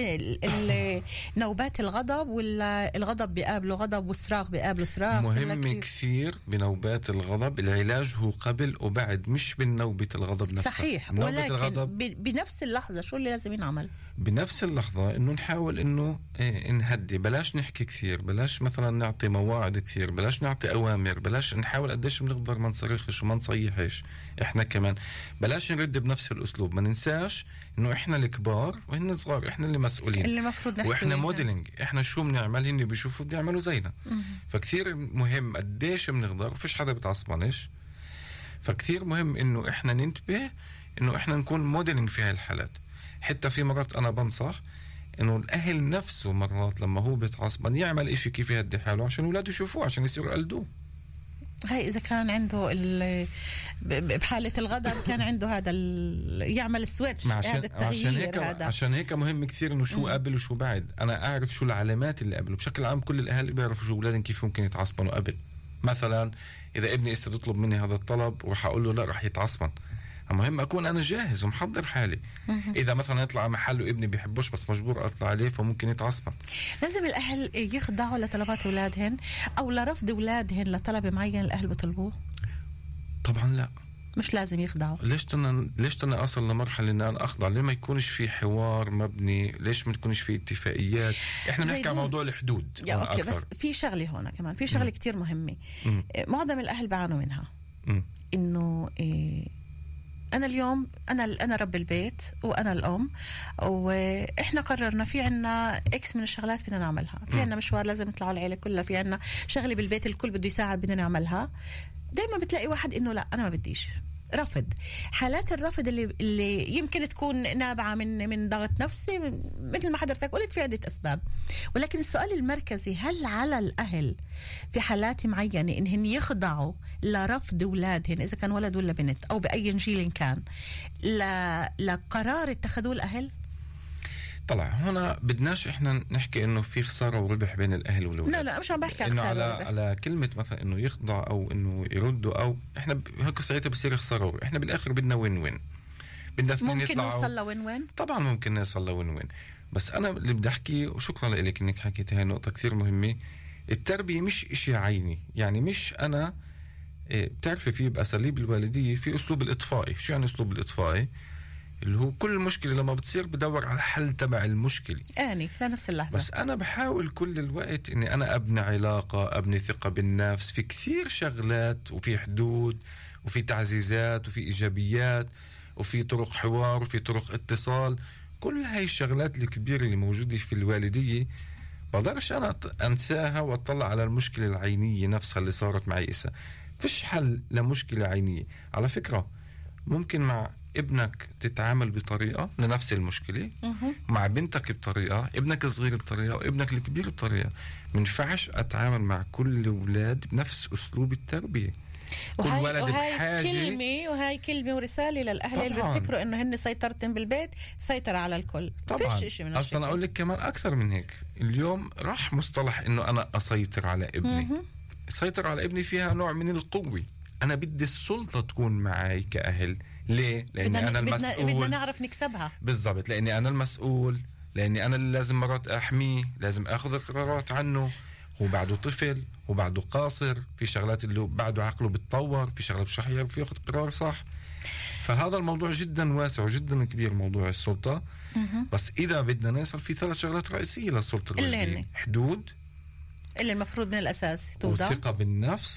نوبات الغضب، ولا الغضب بيقابله غضب والصراخ بيقابله صراخ؟ مهم كثير بنوبات الغضب العلاج هو قبل وبعد، مش بالنوبة الغضب نفسها. صحيح، ولكن الغضب بنفس اللحظة شو اللي لازم ينعمل؟ بنفس اللحظة إنه نحاول إنه إيه نهدي، بلاش نحكي كثير، بلاش مثلا نعطي مواعيد كثير، بلاش نعطي أوامر، بلاش نحاول قديش بنقدر ما نصرخش وما نصيحش. إحنا كمان بلاش نرد بنفس الأسلوب. ما ننساش إنه إحنا الكبار وهن صغار، إحنا اللي مسؤولين، اللي مفروض نحكي وإحنا موديلينج، إحنا شو بنعمل هن بيشوفوا بيعملوا زينا. فكثير مهم قديش بنقدر، فيش حدا بتعصبنش. فكثير مهم إنه إحنا ننتبه إنه إحنا نكون موديلينج في هاي الحالات. حتى في مرات أنا بنصح إنه الأهل نفسه مرات لما هو بيتعصبن يعمل إشي كيف يهدي حاله عشان أولاده يشوفوه، عشان يصيروا يقلدوه. هاي إذا كان عنده بحالة الغضب كان عنده هذا يعمل السويتش، هذا التغيير. عشان هيك هذا. عشان هيك مهم كثير إنه شو قبل وشو بعد. أنا أعرف شو العلامات اللي قبل. بشكل عام كل الأهل بيعرفوا شو أولادهم كيف ممكن يتعصبنوا قبل. مثلا إذا ابني استطلب مني هذا الطلب وراح أقول له لا راح يتعصبن، مهم أكون أنا جاهز ومحضر حالي. إذا مثلا يطلع محل وابني بيحبوش بس مجبور أطلع عليه فممكن يتعصب. لازم الأهل يخضعوا لطلبات أولادهن أو لرفض أولادهن لطلب معين الأهل بطلبوه؟ طبعا لا، مش لازم يخضعوا. ليش تنا ليش تنا أصل لمرحلة إن أنا أخضع؟ ليه ما يكونش في حوار مبني؟ ليش ما تكونش في اتفاقيات؟ إحنا نحكي عن موضوع الحدود. يا أوكي أكثر. بس في شغلة هون كمان، في شغلة كتير مهمة م. معظم الأهل بعانوا منها، م. إنه إيه أنا اليوم أنا أنا رب البيت وأنا الأم، وإحنا قررنا في عنا إكس من الشغلات بدنا نعملها، في عنا مشوار لازم نطلعوا العيلة كلها، في عنا شغلة بالبيت الكل بده يساعد بدنا نعملها. دايما بتلاقي واحد إنه لا أنا ما بديش، رفض. حالات الرفض اللي اللي يمكن تكون نابعة من من ضغط نفسي، مثل ما حضرتك قلت في عدة أسباب. ولكن السؤال المركزي، هل على الأهل في حالات معينة إنهن يخضعوا لرفض أولادهن إذا كان ولد ولا بنت أو بأي جيل كان لقرار اتخذوه الأهل؟ طلع هنا بدناش احنا نحكي انه في خساره وربح بين الاهل والولاد. لا لا مش عم بحكي عن خساره على وربح. على كلمه مثلا انه يخضع او انه يردوا، او احنا هيك ساعتها بصير خساره وربح. احنا بالاخر بدنا وين وين، بدنا ممكن نوصل لوين وين. طبعا ممكن نوصل لوين وين، بس انا اللي بدي احكي، وشكرا لك انك حكيت هاي النقطه كثير مهمه. التربيه مش اشي عيني، يعني مش انا بتعرفي في باساليب الوالديه في اسلوب الاطفائي. شو يعني اسلوب الاطفائي؟ اللي هو كل مشكلة لما بتصير بدور على حل تبع المشكلة آني في نفس اللحظة. بس أنا بحاول كل الوقت إني أنا أبني علاقة، أبني ثقة بالنفس في كثير شغلات، وفي حدود وفي تعزيزات وفي إيجابيات وفي طرق حوار وفي طرق اتصال. كل هاي الشغلات الكبيرة اللي موجودة في الوالدية بقدرش أنا أنساها وأطلع على المشكلة العينية نفسها اللي صارت معي. إسا فيش حل لمشكلة عينية. على فكرة ممكن مع ابنك تتعامل بطريقة لنفس المشكلة، مع بنتك بطريقة، ابنك الصغير بطريقة، وابنك الكبير بطريقة. منفعش أتعامل مع كل الأولاد بنفس أسلوب التربية. كل ولد وهاي بحاجة. كلمة وهاي كلمة ورسالة للأهل اللي بيفكروا إنه هن سيطرتين بالبيت، سيطرة على الكل. طبعا. فيش إشي من أصلا أقول لك كمان أكثر من هيك. اليوم راح مصطلح إنه أنا أسيطر على ابني. سيطر على ابني فيها نوع من القوة. أنا بدي السلطة تكون معي كأهل. ليه؟ لأني بدنا أنا المسؤول. بدنا نعرف نكسبها. بالضبط، لأني أنا المسؤول، لأني أنا اللي لازم مرات أحميه، لازم أخذ القرارات عنه. هو بعده طفل، هو بعده قاصر، في شغلات اللي بعده عقله بتطور، في شغلات مش رح يعرف ياخذ قرار صح. فهذا الموضوع جدا واسع وجدا كبير، موضوع السلطة. بس إذا بدنا نوصل في ثلاث شغلات رئيسية للسلطة الوالدية: حدود اللي المفروض من الأساس توضع، والثقة بالنفس،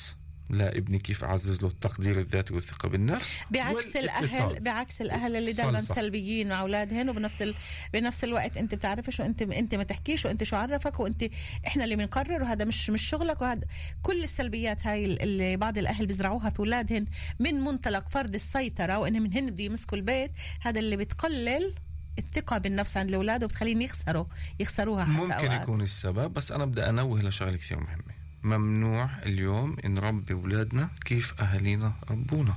لا ابني كيف أعزز له التقدير الذاتي والثقة بالنفس. بعكس الأهل بعكس الأهل اللي دائما سلبيين مع أولادهن، وبنفس ال... بنفس الوقت أنت بتعرفش وأنت أنت ما تحكيش وأنت شو عرفك وأنت إحنا اللي بنقرر وهذا مش مش شغلك، وهذا كل السلبيات هاي اللي بعض الأهل بيزرعوها في أولادهن من منطلق فرض السيطرة وإن من هن بده يمسكوا البيت، هذا اللي بتقلل الثقة بالنفس عند الأولاد وبتخليهم يخسروا يخسروها حتى ممكن أوقات. يكون السبب. بس أنا بدي أنوه لشغلة كثير مهمة. ممنوع اليوم نربي أولادنا كيف أهالينا ربونا.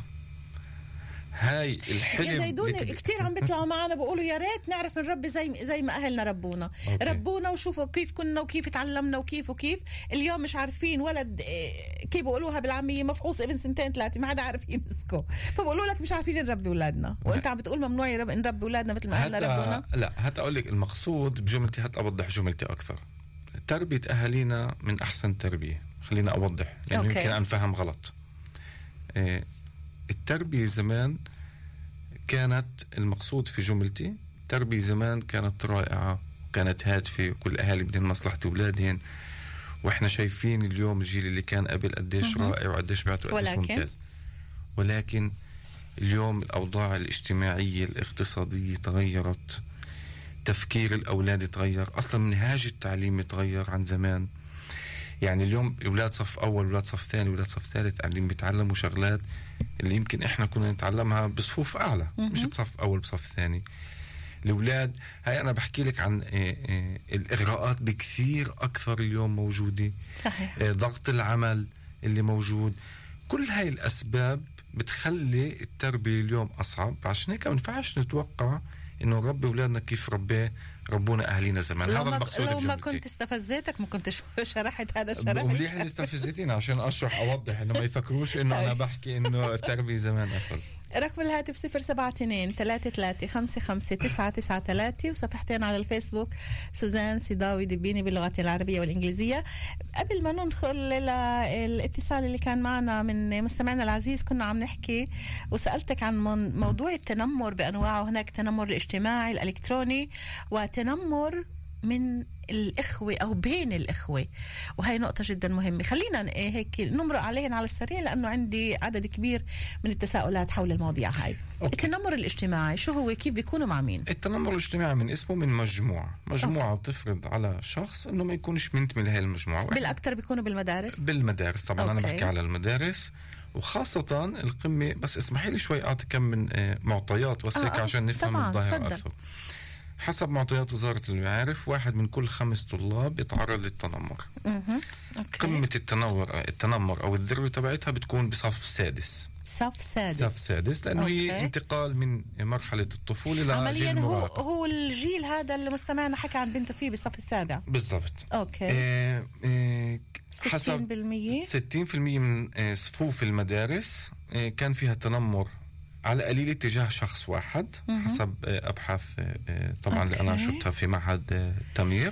هاي الحلم يا زيدون كتير عم بيطلعوا معنا بيقولوا يا ريت نعرف نربي زي زي ما أهلنا ربونا. أوكي. ربونا وشوفوا كيف كنا وكيف تعلمنا وكيف وكيف. اليوم مش عارفين ولد كيف بيقولوها بالعامية مفحوص ابن سنتين ثلاثة ما حدا عارف يمسكه، فبقولوا لك مش عارفين نربي أولادنا وأنت عم بتقول ممنوع نربي أولادنا مثل ما أهلنا ربونا. لا هات أقول لك المقصود بجملتي، هات أوضح جملتي أكثر. تربية أهالينا من أحسن تربية، خلينا أوضح لأنه يعني يمكن أنفهم غلط. اه التربية زمان كانت المقصود في جملتي، تربية زمان كانت رائعة وكانت هادفة وكل الأهالي بدهم مصلحة أولادهم، وإحنا شايفين اليوم الجيل اللي كان قبل قديش رائع وقديش بيعطوا قديش ممتاز. ولكن اليوم الأوضاع الاجتماعية الاقتصادية تغيرت، تفكير الأولاد تغير، أصلا منهاج التعليم تغير عن زمان. يعني اليوم أولاد صف أول أولاد صف ثاني أولاد صف ثالث قاعدين بيتعلموا شغلات اللي يمكن إحنا كنا نتعلمها بصفوف أعلى مش بصف أول بصف ثاني. الأولاد هاي أنا بحكي لك عن إيه إيه الإغراءات بكثير أكثر اليوم موجودة. صحيح. إيه ضغط العمل اللي موجود، كل هاي الأسباب بتخلي التربية اليوم أصعب. عشان هيك ما ينفعش نتوقع إنه نربي أولادنا كيف ربي ربونا أهلينا زمان. هذا المقصود. لو ما كنت استفزيتك ما كنت شرحت هذا الشرح. مليح إني استفزتيني عشان أشرح أوضح إنه ما يفكروش إنه أنا بحكي إنه التربية زمان أفضل. رقم الهاتف صفر سبعة اثنين ثلاثة ثلاثة خمسة خمسة تسعة تسعة ثلاثة، وصفحتين على الفيسبوك سوزان سيداوي دبيني باللغة العربية والإنجليزية. قبل ما ندخل للاتصال اللي كان معنا من مستمعنا العزيز كنا عم نحكي وسألتك عن موضوع التنمر بأنواعه. هناك تنمر الاجتماعي الإلكتروني وتنمر من الإخوة أو بين الإخوة، وهي نقطة جدا مهمة. خلينا هيك نمرق عليهن على السريع لأنه عندي عدد كبير من التساؤلات حول المواضيع هاي. أوكي. التنمر الاجتماعي شو هو؟ كيف بيكونوا مع مين؟ التنمر الاجتماعي من اسمه من مجموعة مجموعة أوكي. بتفرض على شخص إنه ما يكونش منتمي لهي المجموعة. بالأكثر بيكونوا بالمدارس. بالمدارس طبعا. أوكي. أنا بحكي على المدارس وخاصة القمة. بس اسمحي لي شوي أعطي كم من معطيات وسيك آه عشان نفهم الظاهرة أكثر. حسب معطيات وزارة المعارف واحد من كل خمس طلاب يتعرض للتنمر. قمة التنمر التنمر أو الذروة تبعتها بتكون بصف سادس. صف سادس. صف سادس لأنه أوكي. هي انتقال من مرحلة الطفولة لجيل عمليا هو هو الجيل هذا اللي مستمعنا حكى عن بنته فيه بالصف السابع. بالضبط. أوكي. آه آه ستين بالمية ستين بالمية من آه صفوف المدارس آه كان فيها تنمر على قليل اتجاه شخص واحد. م-م. حسب أبحاث طبعا اللي أنا شفتها في معهد تمير.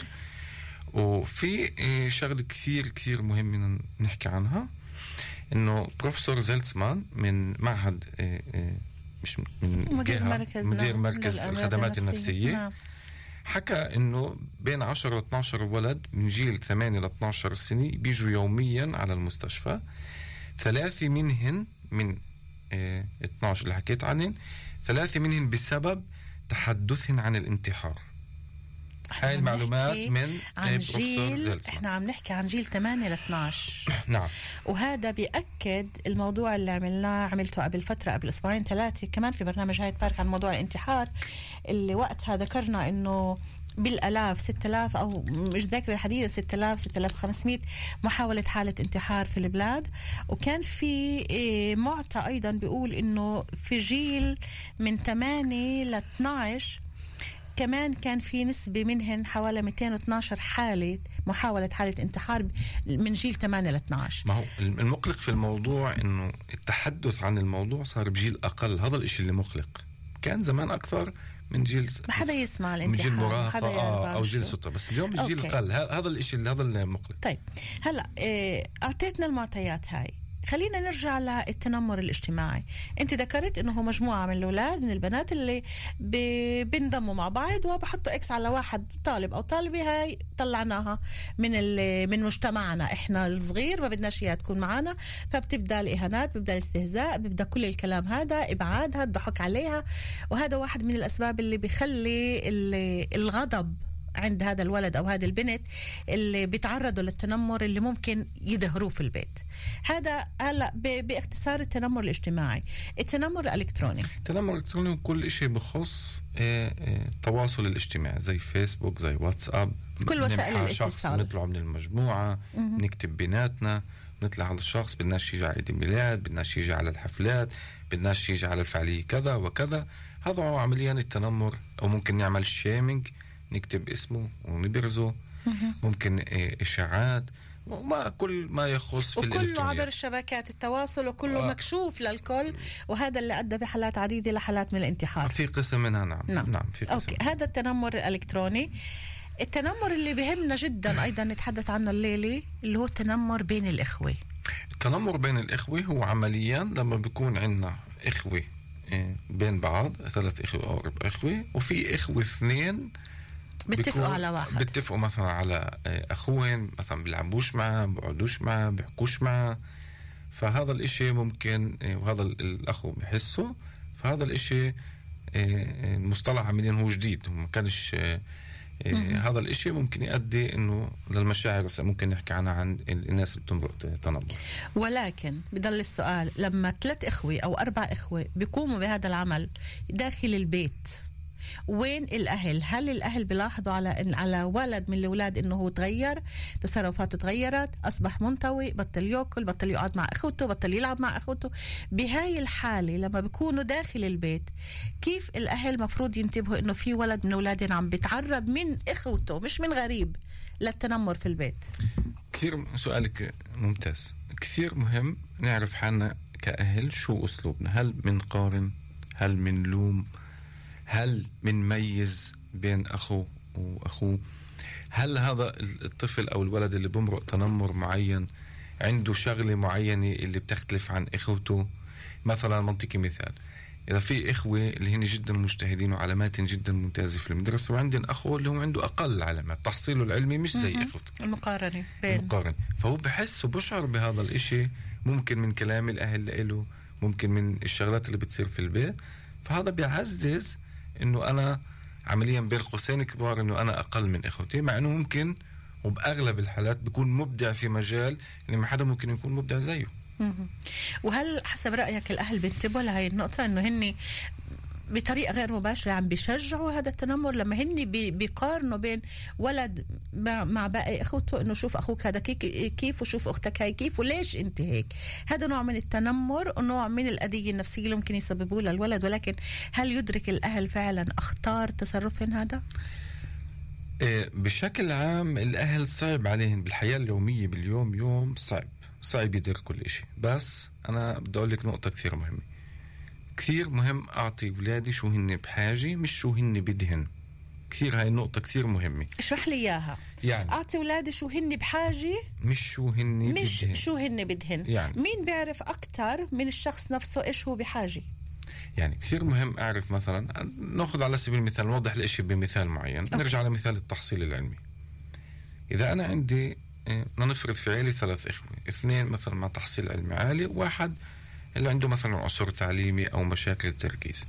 وفي شغلة كثير كثير مهم نحكي عنها، إنه بروفيسور زيلتسمان من معهد مش من مدير مركز مدير مركز الخدمات النفسية, النفسية. حكى إنه بين عشرة ل اثناشر ولد من جيل ثمانية ل اثناشر سنة بيجوا يوميا على المستشفى. ثلاثة منهن من اه اثناشر اللي حكيت عنهن ثلاثة منهن بسبب تحدثهن عن الانتحار. هاي المعلومات من عن جيل احنا عم نحكي عن جيل ثمانية ل اثناشر. نعم. وهذا بيأكد الموضوع اللي عملناه عملته قبل فترة قبل اسبوعين ثلاثة كمان في برنامج هايد بارك عن موضوع الانتحار، اللي وقتها ذكرنا انه بالالاف ستة آلاف او مش ذاكره الحديثه ستة آلاف ستة آلاف وخمسمية محاوله حاله انتحار في البلاد. وكان في معطى ايضا بيقول انه في جيل من ثمانية ل اثناشر كمان كان في نسبة منهن حوالي مئتين واثناشر حالة محاولة حالة انتحار من جيل ثمانية ل اثناشر. ما هو المقلق في الموضوع انه التحدث عن الموضوع صار بجيل اقل. هذا الاشي اللي مقلق. كان زمان اكثر من جيل ما حدا يسمع الانتحار، من جيل مراهقة آه او جيل ستة، بس اليوم الجيل قل. هذا الاشي هذا المقلق. طيب هلا اعطيتنا المعطيات هاي، خلينا نرجع للتنمر الاجتماعي. انت ذكرت انه هو مجموعة من الاولاد من البنات اللي ب- بينضموا مع بعض وبحطوا اكس على واحد طالب او طالبة، هاي طلعناها من ال- من مجتمعنا احنا الصغير، ما بدناش اياها تكون معنا، فبتبدا الاهانات، بيبدا الاستهزاء، بيبدا كل الكلام هذا، ابعادها، الضحك عليها. وهذا واحد من الاسباب اللي بيخلي ال- الغضب عند هذا الولد أو هذه البنت اللي بيتعرضوا للتنمر اللي ممكن يظهروه في البيت. هذا هلا ب- باختصار التنمر الاجتماعي. التنمر الإلكتروني، التنمر الإلكتروني كل شيء بخص آه، آه، التواصل الاجتماعي زي فيسبوك زي واتساب، كل وسائل نمحى شخص الاتصال. نطلعه من المجموعة، نكتب بيناتنا، نطلع على الشخص بدناش يجي على عيد الميلاد، بدناش يجي على الحفلات، بدناش يجي على الفعالية كذا وكذا. هذا هو عمليا التنمر. أو ممكن نعمل شيمينج، نكتب اسمه ونبرزه، ممكن إيه إشاعات، وما كل ما يخص في وكله الإلكترونيات. عبر شبكات التواصل، وكله آه. مكشوف للكل، وهذا اللي أدى بحالات عديدة لحالات من الانتحار. في قسم منها نعم نعم, نعم في قسم. أوكي. هذا التنمر الإلكتروني. التنمر اللي بهمنا جدا أيضا نتحدث عنه الليلة اللي هو التنمر بين الإخوة. التنمر بين الإخوة هو عمليا لما بيكون عندنا إخوة إيه، بين بعض، ثلاث إخوة أو أربع إخوة، وفي إخوة اثنين بيتفقوا بيكون- على واحد. بيتفقوا مثلا على إيه، أخوهم، مثلا بيلعبوش معه، بيقعدوش معه، بيحكوش معه. فهذا الإشي ممكن إيه، وهذا ال- الأخو بحسه. فهذا الإشي إيه، إيه، المصطلح عمليا هو جديد، ما كانش إيه، إيه، هذا الإشي ممكن يؤدي إنه للمشاعر. ممكن نحكي عنها عن الناس اللي بتمرق تنمر. ولكن بضل السؤال، لما ثلاث إخوة أو أربع إخوة بيقوموا بهذا العمل داخل البيت، وين الأهل؟ هل الأهل بيلاحظوا على إن على ولد من الأولاد إنه هو تغير، تصرفاته تغيرت، أصبح منطوي، بطل يأكل، بطل يقعد مع أخوته، بطل يلعب مع أخوته؟ بهاي الحالة لما بيكونوا داخل البيت، كيف الأهل مفروض ينتبهوا إنه في ولد من أولادنا عم بيتعرض من إخوته مش من غريب للتنمر في البيت؟ كثير سؤالك ممتاز. كثير مهم نعرف حالنا كأهل شو أسلوبنا. هل منقارن؟ هل منلوم؟ هل منميز بين أخو وأخوه؟ هل هذا الطفل أو الولد اللي بمرق تنمر معين عنده شغلة معينة اللي بتختلف عن إخوته؟ مثلا منطقي مثال، إذا في إخوة اللي هن جدا مجتهدين وعلامات جدا ممتازة في المدرسة، وعندن أخو اللي هو عنده أقل علامات، تحصيله العلمي مش زي إخوته، المقارنة بين المقارن. فهو بحس وبشعر بهذا الإشي، ممكن من كلام الأهل له، ممكن من الشغلات اللي بتصير في البيت. فهذا بيعزز إنه أنا عمليا بين قوسين كبار إنه أنا أقل من إخوتي، مع إنه ممكن وبأغلب الحالات بيكون مبدع في مجال اللي ما حدا ممكن يكون مبدع زيه. مهم. وهل حسب رأيك الأهل بينتبهوا لهي النقطة إنه هن بطريقة غير مباشرة عم بيشجعوا هذا التنمر لما هن بي- بيقارنوا بين ولد مع, مع باقي أخوته، إنه شوف أخوك هذا كي- كيف وشوف أختك هاي كيف وليش أنت هيك؟ هذا نوع من التنمر ونوع من الأذية النفسية اللي ممكن يسببوه للولد. ولكن هل يدرك الأهل فعلا أخطار تصرفهم هذا؟ إيه، بشكل عام الأهل صعب عليهم بالحياة اليومية، باليوم يوم صعب صعب يدير كل إشي. بس أنا بدي أقول لك نقطة كثير مهمة. كثير مهم أعطي أولادي شو هن بحاجة مش شو هن بدهن. كثير هاي النقطة كثير مهمة. اشرح لي إياها. يعني أعطي أولادي شو هن بحاجة مش شو هن مش بدهن. شو هن بدهن. يعني. مين بيعرف أكتر من الشخص نفسه إيش هو بحاجة؟ يعني كثير مهم أعرف، مثلا نأخذ على سبيل المثال، نوضح الإشي بمثال معين. أوكي. نرجع على مثال التحصيل العلمي. إذا أنا عندي إيه، نفرض في عيلي ثلاث إخوة، اثنين مثلا مع تحصيل علمي عالي، واحد اللي عنده مثلا عسر تعليمي أو مشاكل التركيز.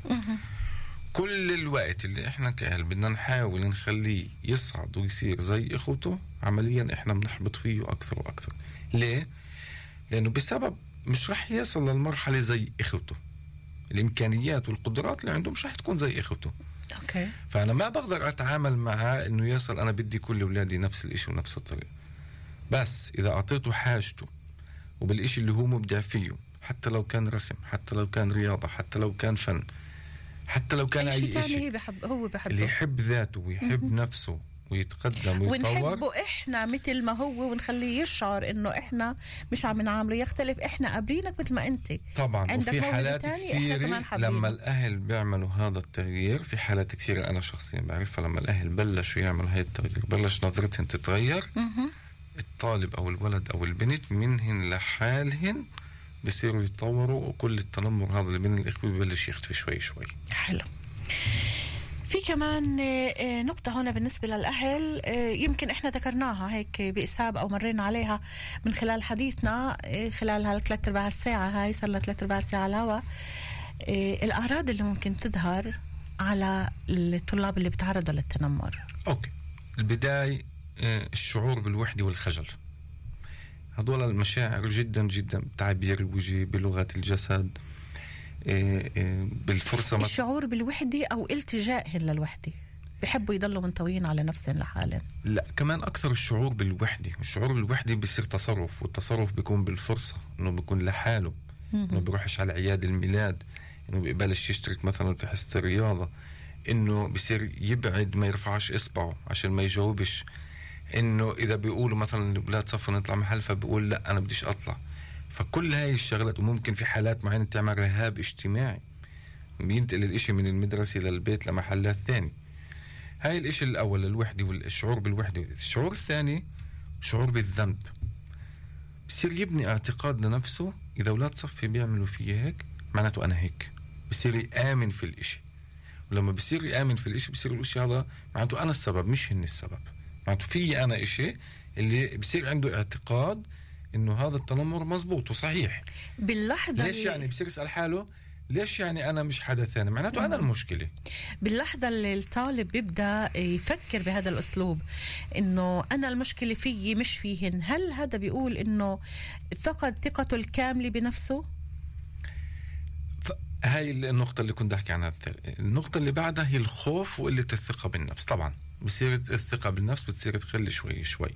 كل الوقت اللي إحنا كأهل بدنا نحاول نخليه يصعد ويصير زي إخوته، عمليا إحنا بنحبط فيه أكثر وأكثر. ليه؟ لأنه بسبب مش رح يصل للمرحلة زي إخوته. الإمكانيات والقدرات اللي عنده مش رح تكون زي إخوته. أوكي. فأنا ما بقدر أتعامل معاه إنه يصل أنا بدي كل أولادي نفس الإشي ونفس الطريقة. بس إذا أعطيته حاجته وبالإشي اللي هو مبدع فيه، حتى لو كان رسم، حتى لو كان رياضة، حتى لو كان فن، حتى لو كان أي أي شيء إشي تاني بحب هو بحبه، اللي يحب ذاته ويحب نفسه ويتقدم ويتطور، ونحبه إحنا مثل ما هو، ونخليه يشعر إنه إحنا مش عم نعامله يختلف، إحنا قابلينك مثل ما أنت. طبعا. عندك وفي موهبة حالات تانية، إحنا كثيرة كمان حابينه. لما الأهل بيعملوا هذا التغيير، في حالات كثيرة أنا شخصيا بعرفها، لما الأهل بلشوا يعملوا هذا التغيير، بلش نظرتهم تتغير، مهم. الطالب أو الولد أو البنت منهن لحالهن بيصيروا يتطوروا، وكل التنمر هذا اللي بين الإخوة ببلش يختفي شوي شوي. حلو. في كمان نقطة هنا بالنسبة للأهل يمكن إحنا ذكرناها هيك بإسهاب أو مرينا عليها من خلال حديثنا خلال هالثلاث أرباع الساعة هاي، صار لها ثلاث أرباع الساعة على الهواء. الأعراض اللي ممكن تظهر على الطلاب اللي بتعرضوا للتنمر. أوكي، البداية الشعور بالوحدة والخجل، هذول المشاعر جدا جدا، تعبير الوجه، بلغة الجسد، بالفرصة. الشعور بالوحدة أو التجائهم للوحدة، بيحبوا يضلوا منطويين على نفسهم لحالهم. لا، كمان أكثر الشعور بالوحدة. الشعور بالوحدة بيصير تصرف، والتصرف بيكون بالفرصة، إنه بيكون لحاله، إنه بيروحش على عياد الميلاد، إنه بيقبلش يشترك مثلا في حصة الرياضة، إنه بيصير يبعد ما يرفعش إصبعه عشان ما يجاوبش، إنه إذا بيقولوا مثلا الأولاد صفوا نطلع محل فبيقول لا أنا بديش أطلع. فكل هاي الشغلات، وممكن في حالات معينة تعمل رهاب اجتماعي، بينتقل الاشي من المدرسة للبيت لمحلات ثاني. هاي الاشي الأول، الوحدة والشعور بالوحدة. الشعور الثاني شعور بالذنب، بصير يبني اعتقاد لنفسه إذا أولاد صفي بيعملوا فيه هيك معناته أنا هيك، بصير يآمن في الاشي، ولما بصير يآمن في الاشي بصير الاشي هذا معناته أنا السبب مش هن السبب، معناته في أنا اشي اللي بصير عنده اعتقاد إنه هذا التنمر مزبوط وصحيح. باللحظة ليش يعني بصير يسأل حاله ليش يعني أنا مش حدا ثاني، معناته أنا المشكلة. باللحظة اللي الطالب بيبدأ يفكر بهذا الأسلوب إنه أنا المشكلة فيي مش فيهن، هل هذا بيقول إنه فقد ثقته الكاملة بنفسه؟ هاي النقطة اللي كنت أحكي عنها. النقطة اللي بعدها هي الخوف وقلة الثقة بالنفس. طبعا بصير الثقة بالنفس بتصير تقل شوي شوي،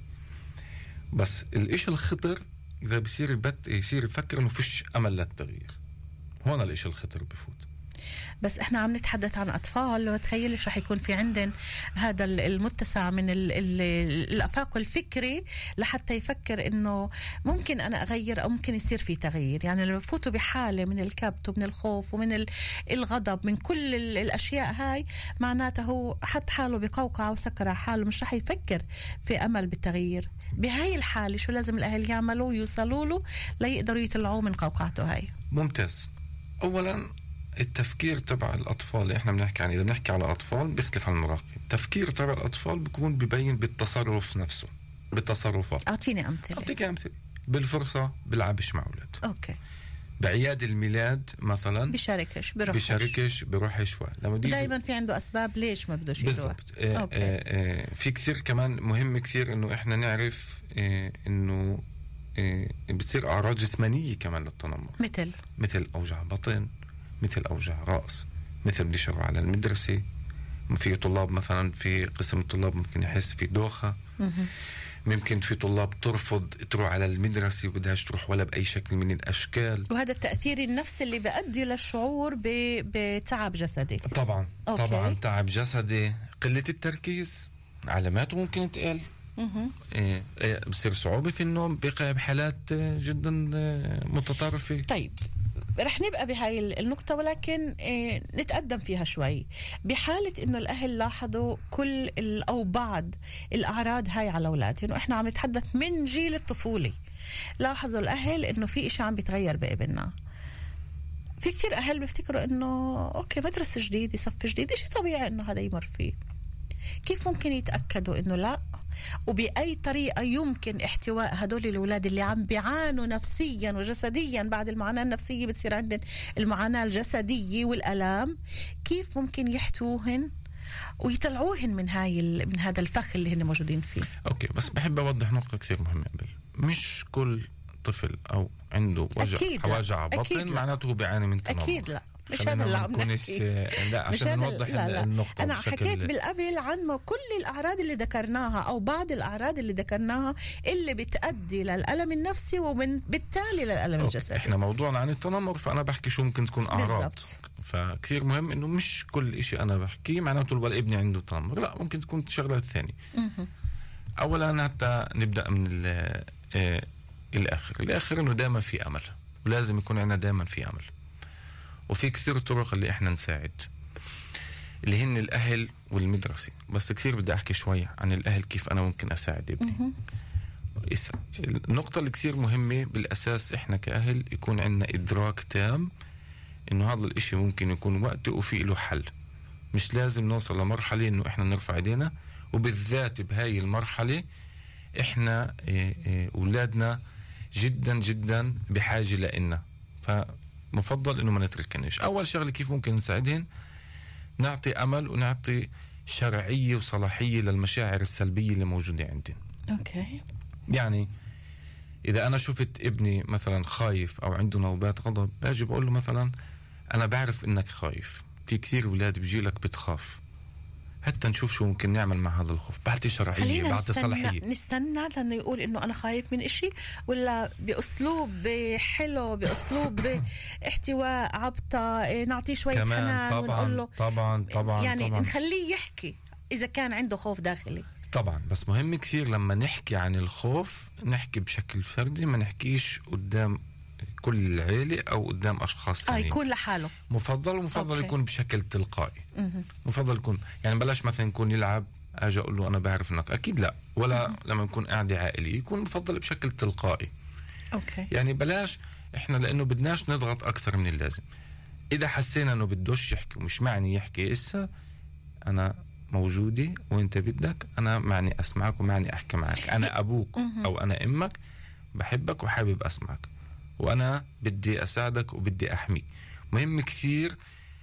بس الإشي الخطر إذا بصير بت يصير يفكر إنه فيش أمل للتغيير، هون الإشي الخطر بفوت. بس إحنا عم نتحدث عن أطفال، وتخيلش رح يكون في عندن هذا المتسع من ال ال الأفاق الفكري لحتى يفكر إنه ممكن أنا أغير أو ممكن يصير في تغيير. يعني لما بفوتوا بحالة من الكبت ومن الخوف ومن الغضب من كل الأشياء هاي، معناته هو حط حاله بقوقعة وسكر حاله، مش رح يفكر في أمل بالتغيير. بهاي الحالة شو لازم الأهل يعملوا؟ يوصلوا له ليقدروا يطلعوه من قوقعته هاي. ممتاز. أولا التفكير تبع الأطفال اللي إحنا بنحكي عنه، إذا بنحكي على أطفال بيختلف عن المراهقين. التفكير تبع الأطفال بيكون ببين بالتصرف نفسه، بالتصرفات. أعطيني أمثلة. أعطيك أمثلة. بالفرصة بلعبش مع أولاد. أوكي. بعياد الميلاد مثلا بشاركش بروحش بشاركش بروحش. لما دايما في عنده أسباب ليش ما بدوش يروح. بالضبط. آه آه آه في كثير كمان مهم كثير إنه إحنا نعرف آه إنه آه بتصير أعراض جسمانية كمان للتنمر، مثل مثل أوجع بطن، مثل أوجع رأس، مثل بدي شغل على المدرسة. في طلاب مثلا في قسم الطلاب ممكن يحس في دوخة. ممكن في طلاب ترفض تروح على المدرسة وبدهاش تروح ولا بأي شكل من الأشكال. وهذا التأثير النفسي اللي بيؤدي للشعور بتعب جسدي. طبعا أوكي. طبعا تعب جسدي، قلة التركيز، علاماته ممكن تقل. إيه إيه بصير صعوبة في النوم، بقى بحالات جدا متطرفة. طيب رح نبقى بهاي النقطة، ولكن إيه نتقدم فيها شوي. بحالة إنه الأهل لاحظوا كل أو بعض الأعراض هاي على أولادهم، وإحنا عم نتحدث من جيل الطفولي، لاحظوا الأهل إنه في إشي عم بيتغير بابننا. في كتير أهل بيفتكروا إنه أوكي مدرسة جديدة، صف جديد، إشي طبيعي إنه هذا يمر فيه. كيف ممكن يتأكدوا إنه لا؟ وبأي طريقة يمكن احتواء هدول الأولاد اللي عم بيعانوا نفسيا وجسديا؟ بعد المعاناة النفسية بتصير عندهم المعاناة الجسدية والألام. كيف ممكن يحتوهن ويطلعوهن من هاي من هذا الفخ اللي هن موجودين فيه؟ أوكي، بس بحب أوضح نقطة كثير مهمة قبل. مش كل طفل أو عنده وجع وجع بطن معناته بيعاني من تنمر. أكيد لا، مش هذا اللي عم نحكي. لا، عشان نوضح لا لا. النقطة. أنا حكيت بالقبل عن كل الأعراض اللي ذكرناها أو بعض الأعراض اللي ذكرناها اللي بتؤدي للألم النفسي ومن بالتالي للألم الجسدي. إحنا موضوعنا عن التنمر، فأنا بحكي شو ممكن تكون أعراض. بالزبط. فكثير مهم إنه مش كل إشي أنا بحكيه معناته الولد ابني عنده تنمر، لا، ممكن تكون شغلات ثانية. أولا حتى نبدأ من آه الآخر. الآخر إنه دائما في أمل، ولازم يكون عندنا دائما في أمل. وفي كثير طرق اللي احنا نساعد، اللي هن الأهل والمدرسة. بس كثير بدي أحكي شوي عن الأهل، كيف أنا ممكن أساعد ابني. النقطة اللي كثير مهمة بالأساس إحنا كأهل يكون عندنا إدراك تام إنه هذا الإشي ممكن يكون وقته وفي له حل. مش لازم نوصل لمرحلة إنه إحنا نرفع إيدينا، وبالذات بهاي المرحلة إحنا أولادنا جدا جدا بحاجة لإلنا، فمفضل إنه ما نتركناش. أول شغلة كيف ممكن نساعدهن؟ نعطي أمل ونعطي شرعية وصلاحية للمشاعر السلبية اللي موجودة عندنا. أوكي. يعني إذا أنا شفت ابني مثلا خايف أو عنده نوبات غضب، باجي بقول له مثلا أنا بعرف إنك خايف، في كثير أولاد بيجيلك بتخاف، حتى نشوف شو ممكن نعمل مع هذا الخوف. بعطي شرعية، بعطي صلاحية. نستنى لأنه يقول إنه أنا خايف من إشي، ولا بأسلوب حلو، بأسلوب احتواء، عبطة، نعطيه شوية حنان ونقول له طبعا طبعا يعني طبعا. نخليه يحكي إذا كان عنده خوف داخلي. طبعا، بس مهم كثير لما نحكي عن الخوف نحكي بشكل فردي، ما نحكيش قدام كل العيلة أو قدام أشخاص ثانيين. آه يكون لحاله. مفضل ومفضل أوكي. يكون بشكل تلقائي. مه. مفضل يكون يعني بلاش مثلا يكون يلعب أجي أقول له أنا بعرف إنك أكيد لا، ولا مه. لما نكون قاعدة عائلية يكون مفضل بشكل تلقائي. أوكي. يعني بلاش إحنا لأنه بدناش نضغط أكثر من اللازم. إذا حسينا إنه بدوش يحكي ومش معني يحكي، إسا أنا موجودة وانت بدك، انا معني اسمعك ومعني احكي معك، انا ابوك او انا امك، بحبك وحابب اسمعك، وانا بدي اساعدك وبدي احميك. مهم كثير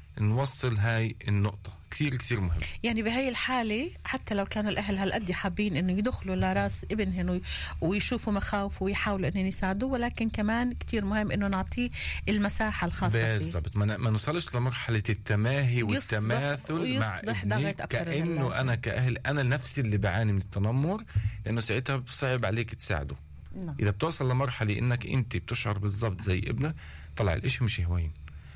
نوصل هاي النقطة، كثير كثير مهم. يعني بهاي الحالة حتى لو كانوا الأهل هالقد حابين إنه يدخلوا لراس ابنهم ويشوفوا مخاوفه ويحاولوا إنه يساعدوه، ولكن كمان كتير مهم إنه نعطيه المساحة الخاصة فيه. بالضبط، ما نوصلش لمرحلة التماهي والتماثل مع ابني كأنه أنا كأهل أنا نفسي اللي بعاني من التنمر، لأنه ساعتها صعب عليك تساعده. نعم. إذا بتوصل لمرحلة إنك أنت بتشعر بالضبط زي ابنك، طلع الإشي مش هوين.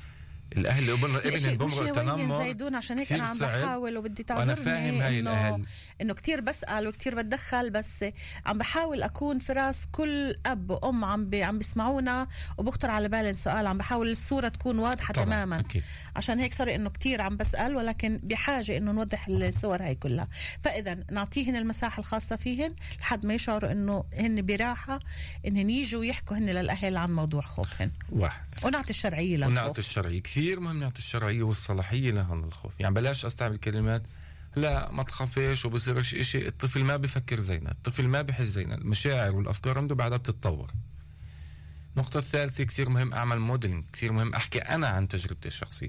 الاهل ابن ابن بمرق التنمر زيدون، عشان هيك انا عم بحاول وبدي تعذرني. وانا فاهم هاي إنه الاهل انه كتير بسال وكتير بتدخل، بس عم بحاول اكون في راس كل اب وام عم بي عم بيسمعونا، وبخطر على بالي سؤال، عم بحاول الصوره تكون واضحه تماما. أكيد. عشان هيك صار انه كتير عم بسال، ولكن بحاجه انه نوضح الصور هاي كلها. فاذا نعطيهن المساحه الخاصه فيهن لحد ما يشعروا انه هن براحه انهن يجوا يحكوا هن للاهل عن موضوع خوفهن. واحد. ونعطي الشرعيه للخوف. ونعطي الشرعيه، كثير مهم نعطي الشرعيه والصلاحيه لهذا الخوف. يعني بلاش استعمل كلمات لا ما تخافيش وبصيرش إشي، الطفل ما بفكر زينا، الطفل ما بحس زينا، المشاعر والافكار عنده بعدها بتتطور. النقطه الثالثه كثير مهم اعمل موديلينج، كثير مهم احكي انا عن تجربتي الشخصيه.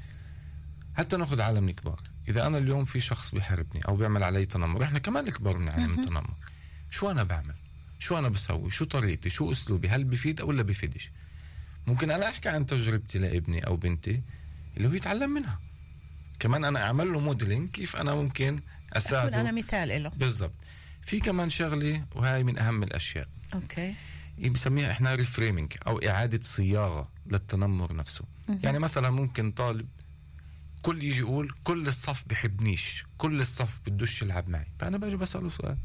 حتى ناخذ عالم الكبار، اذا انا اليوم في شخص بيحاربني او بيعمل علي تنمر، احنا كمان الكبار بنعاني من التنمر، شو انا بعمل؟ شو انا بسوي؟ شو طريقتي؟ شو اسلوبي؟ هل بفيد او لا بفيدش؟ ممكن انا احكي عن تجربتي لابني او بنتي اللي هو يتعلم منها، كمان انا اعمل له موديلينج كيف انا ممكن اساعده، اكون انا مثال له. بالضبط. في كمان شغله وهي من اهم الاشياء، اوكي، بنسميها احنا ريفريمينج او اعاده صياغه للتنمر نفسه. م- يعني مثلا ممكن طالب كل يجي يقول كل الصف بحبنيش، كل الصف بدوش يلعب معي، فانا باجي بساله سؤال،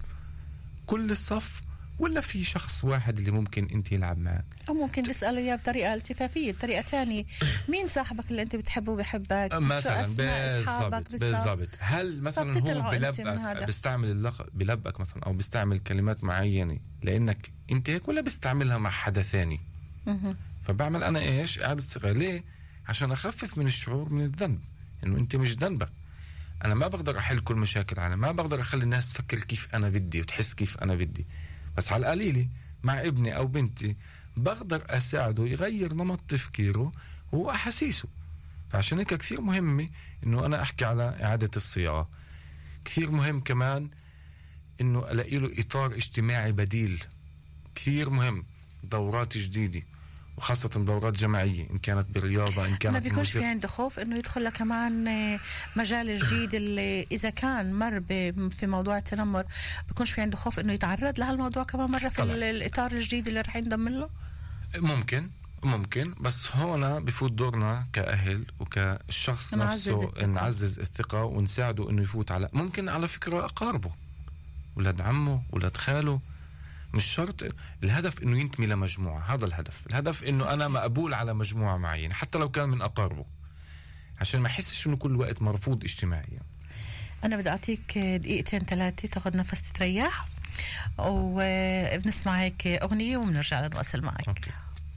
كل الصف ولا في شخص واحد اللي ممكن انت يلعب معك؟ او ممكن تساله اياه بطريقه التفافيه، بطريقه ثانيه، مين صاحبك اللي انت بتحبه وبحبك؟ مثلا بالضبط بالضبط. هل مثلا هو بلبك بيستعمل اللقب بلبك مثلا او بيستعمل كلمات معينه لانك انت هيك، ولا بيستعملها مع حدا ثاني؟ فبعمل انا ايش؟ اعاده صياغه. ليه؟ عشان اخفف من الشعور من الذنب، انه انت مش ذنبك. انا ما بقدر احل كل مشاكل العالم، ما بقدر اخلي الناس تفكر كيف انا بدي وتحس كيف انا بدي، بس على القليلة مع ابني أو بنتي بقدر أساعده يغير نمط تفكيره وأحاسيسه. فعشان هيك كثير مهمة إنه أنا أحكي على إعادة الصياغة. كثير مهم كمان إنه ألاقي له إطار اجتماعي بديل، كثير مهم، دورات جديدة وخاصة دورات جماعية، إن كانت بالرياضة إن كانت ما بيكونش في عنده خوف إنه يدخل كمان مجال جديد اللي إذا كان مر في موضوع التنمر، بيكونش في عنده خوف إنه يتعرض لهالموضوع كمان مرة في طبعا. الإطار الجديد اللي رح ينضم له؟ ممكن ممكن بس هنا بفوت دورنا كأهل وكالشخص نفسه نعزز الثقة ونساعده إنه يفوت على، ممكن على فكرة أقاربه، ولاد عمه، ولاد خاله، مش شرط. الهدف انه ينتمي لمجموعة، هذا الهدف. الهدف انه انا مقبول على مجموعة معينة حتى لو كان من اقاربه، عشان ما يحسش انه كل وقت مرفوض اجتماعيا. انا بدي اعطيك دقيقتين ثلاثة تاخذ نفس تريح. وبنسمع هيك أغنية وبنرجع نواصل معك. أوكي.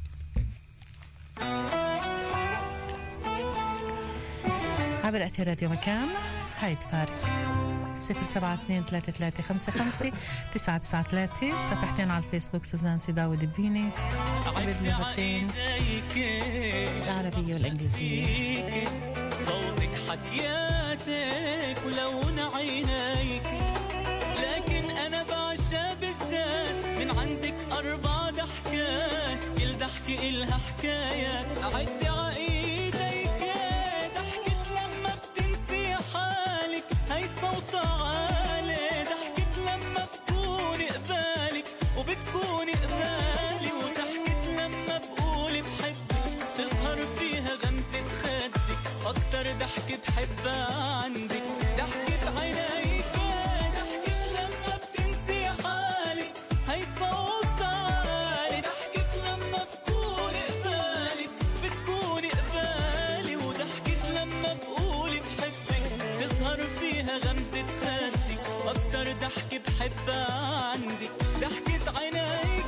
عبر أثير راديو مكان هايد فارق صفر سبعة اثنين ثلاثة ثلاثة خمسة خمسة تسعة تسعة ثلاثة. صفحتين على الفيسبوك سوزان سيداو دبيني باللغتين العربية والإنجليزية. صوتك حكياتك ولون عينيك، لكن أنا بعشق بالذات من عندك أربع ضحكات، كل ضحكة إلها حكاية. عدي عايديك ضحكة لما بتنسي حالك، هاي صوت عالي. ضحكة لما بكوني قبالك وبتكوني قبالي، وضحكة لما بقول بحبك تظهر فيها غمزة خدك. أكتر ضحكة بحبها عندك ضحكة عينيك، ضحكة لما بتنسي حالك، هاي صوت عالي. ضحكة لما بكوني قبالك بتكوني قبالي، وضحكة لما بقول بحبك تظهر فيها غمزة خدك. أكتر ضحكة بحبها عندك ضحكة عينيك.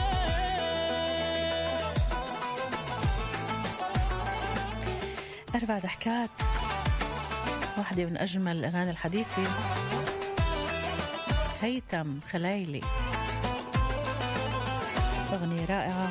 أربع ضحكات، واحدة من أجمل الأغاني الحديثة، هيثم خلايلي، أغنية رائعة.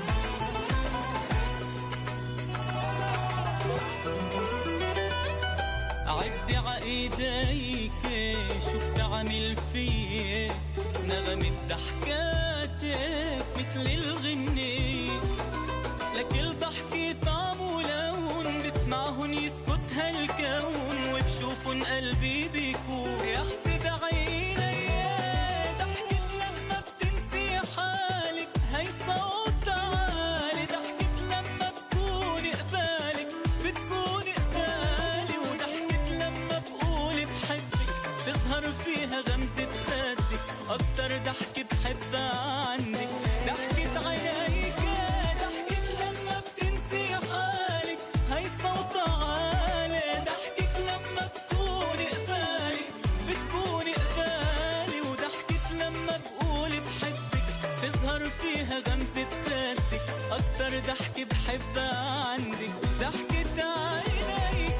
عدي عايديك شو بتعمل فيه، نغمة ضحكاتك مثل الغنية، لكل ضحكة طعم ولون بسمعهن يسكت هالكون، وبشوفن قلبي بيكون يحسد عيني. ضحكة لما بتنسي حالك، هاي صوت عالي. ضحكة لما بكوني قبالك بتكوني قبالي، وضحكة لما بقول بحبك تظهر فيها غمزة خدك. أكتر ضحكة بحبها عندك ضحكة عينيك، ضحكة لما بتنسي حالك، هاي صوت عالي. ضحكة لما بكوني قبالي بتكوني قبالي، وضحكة لما بقول بحبك تظهر فيها غمزة خدك. أكتر ضحكة بحبها عندك ضحكة عينيك.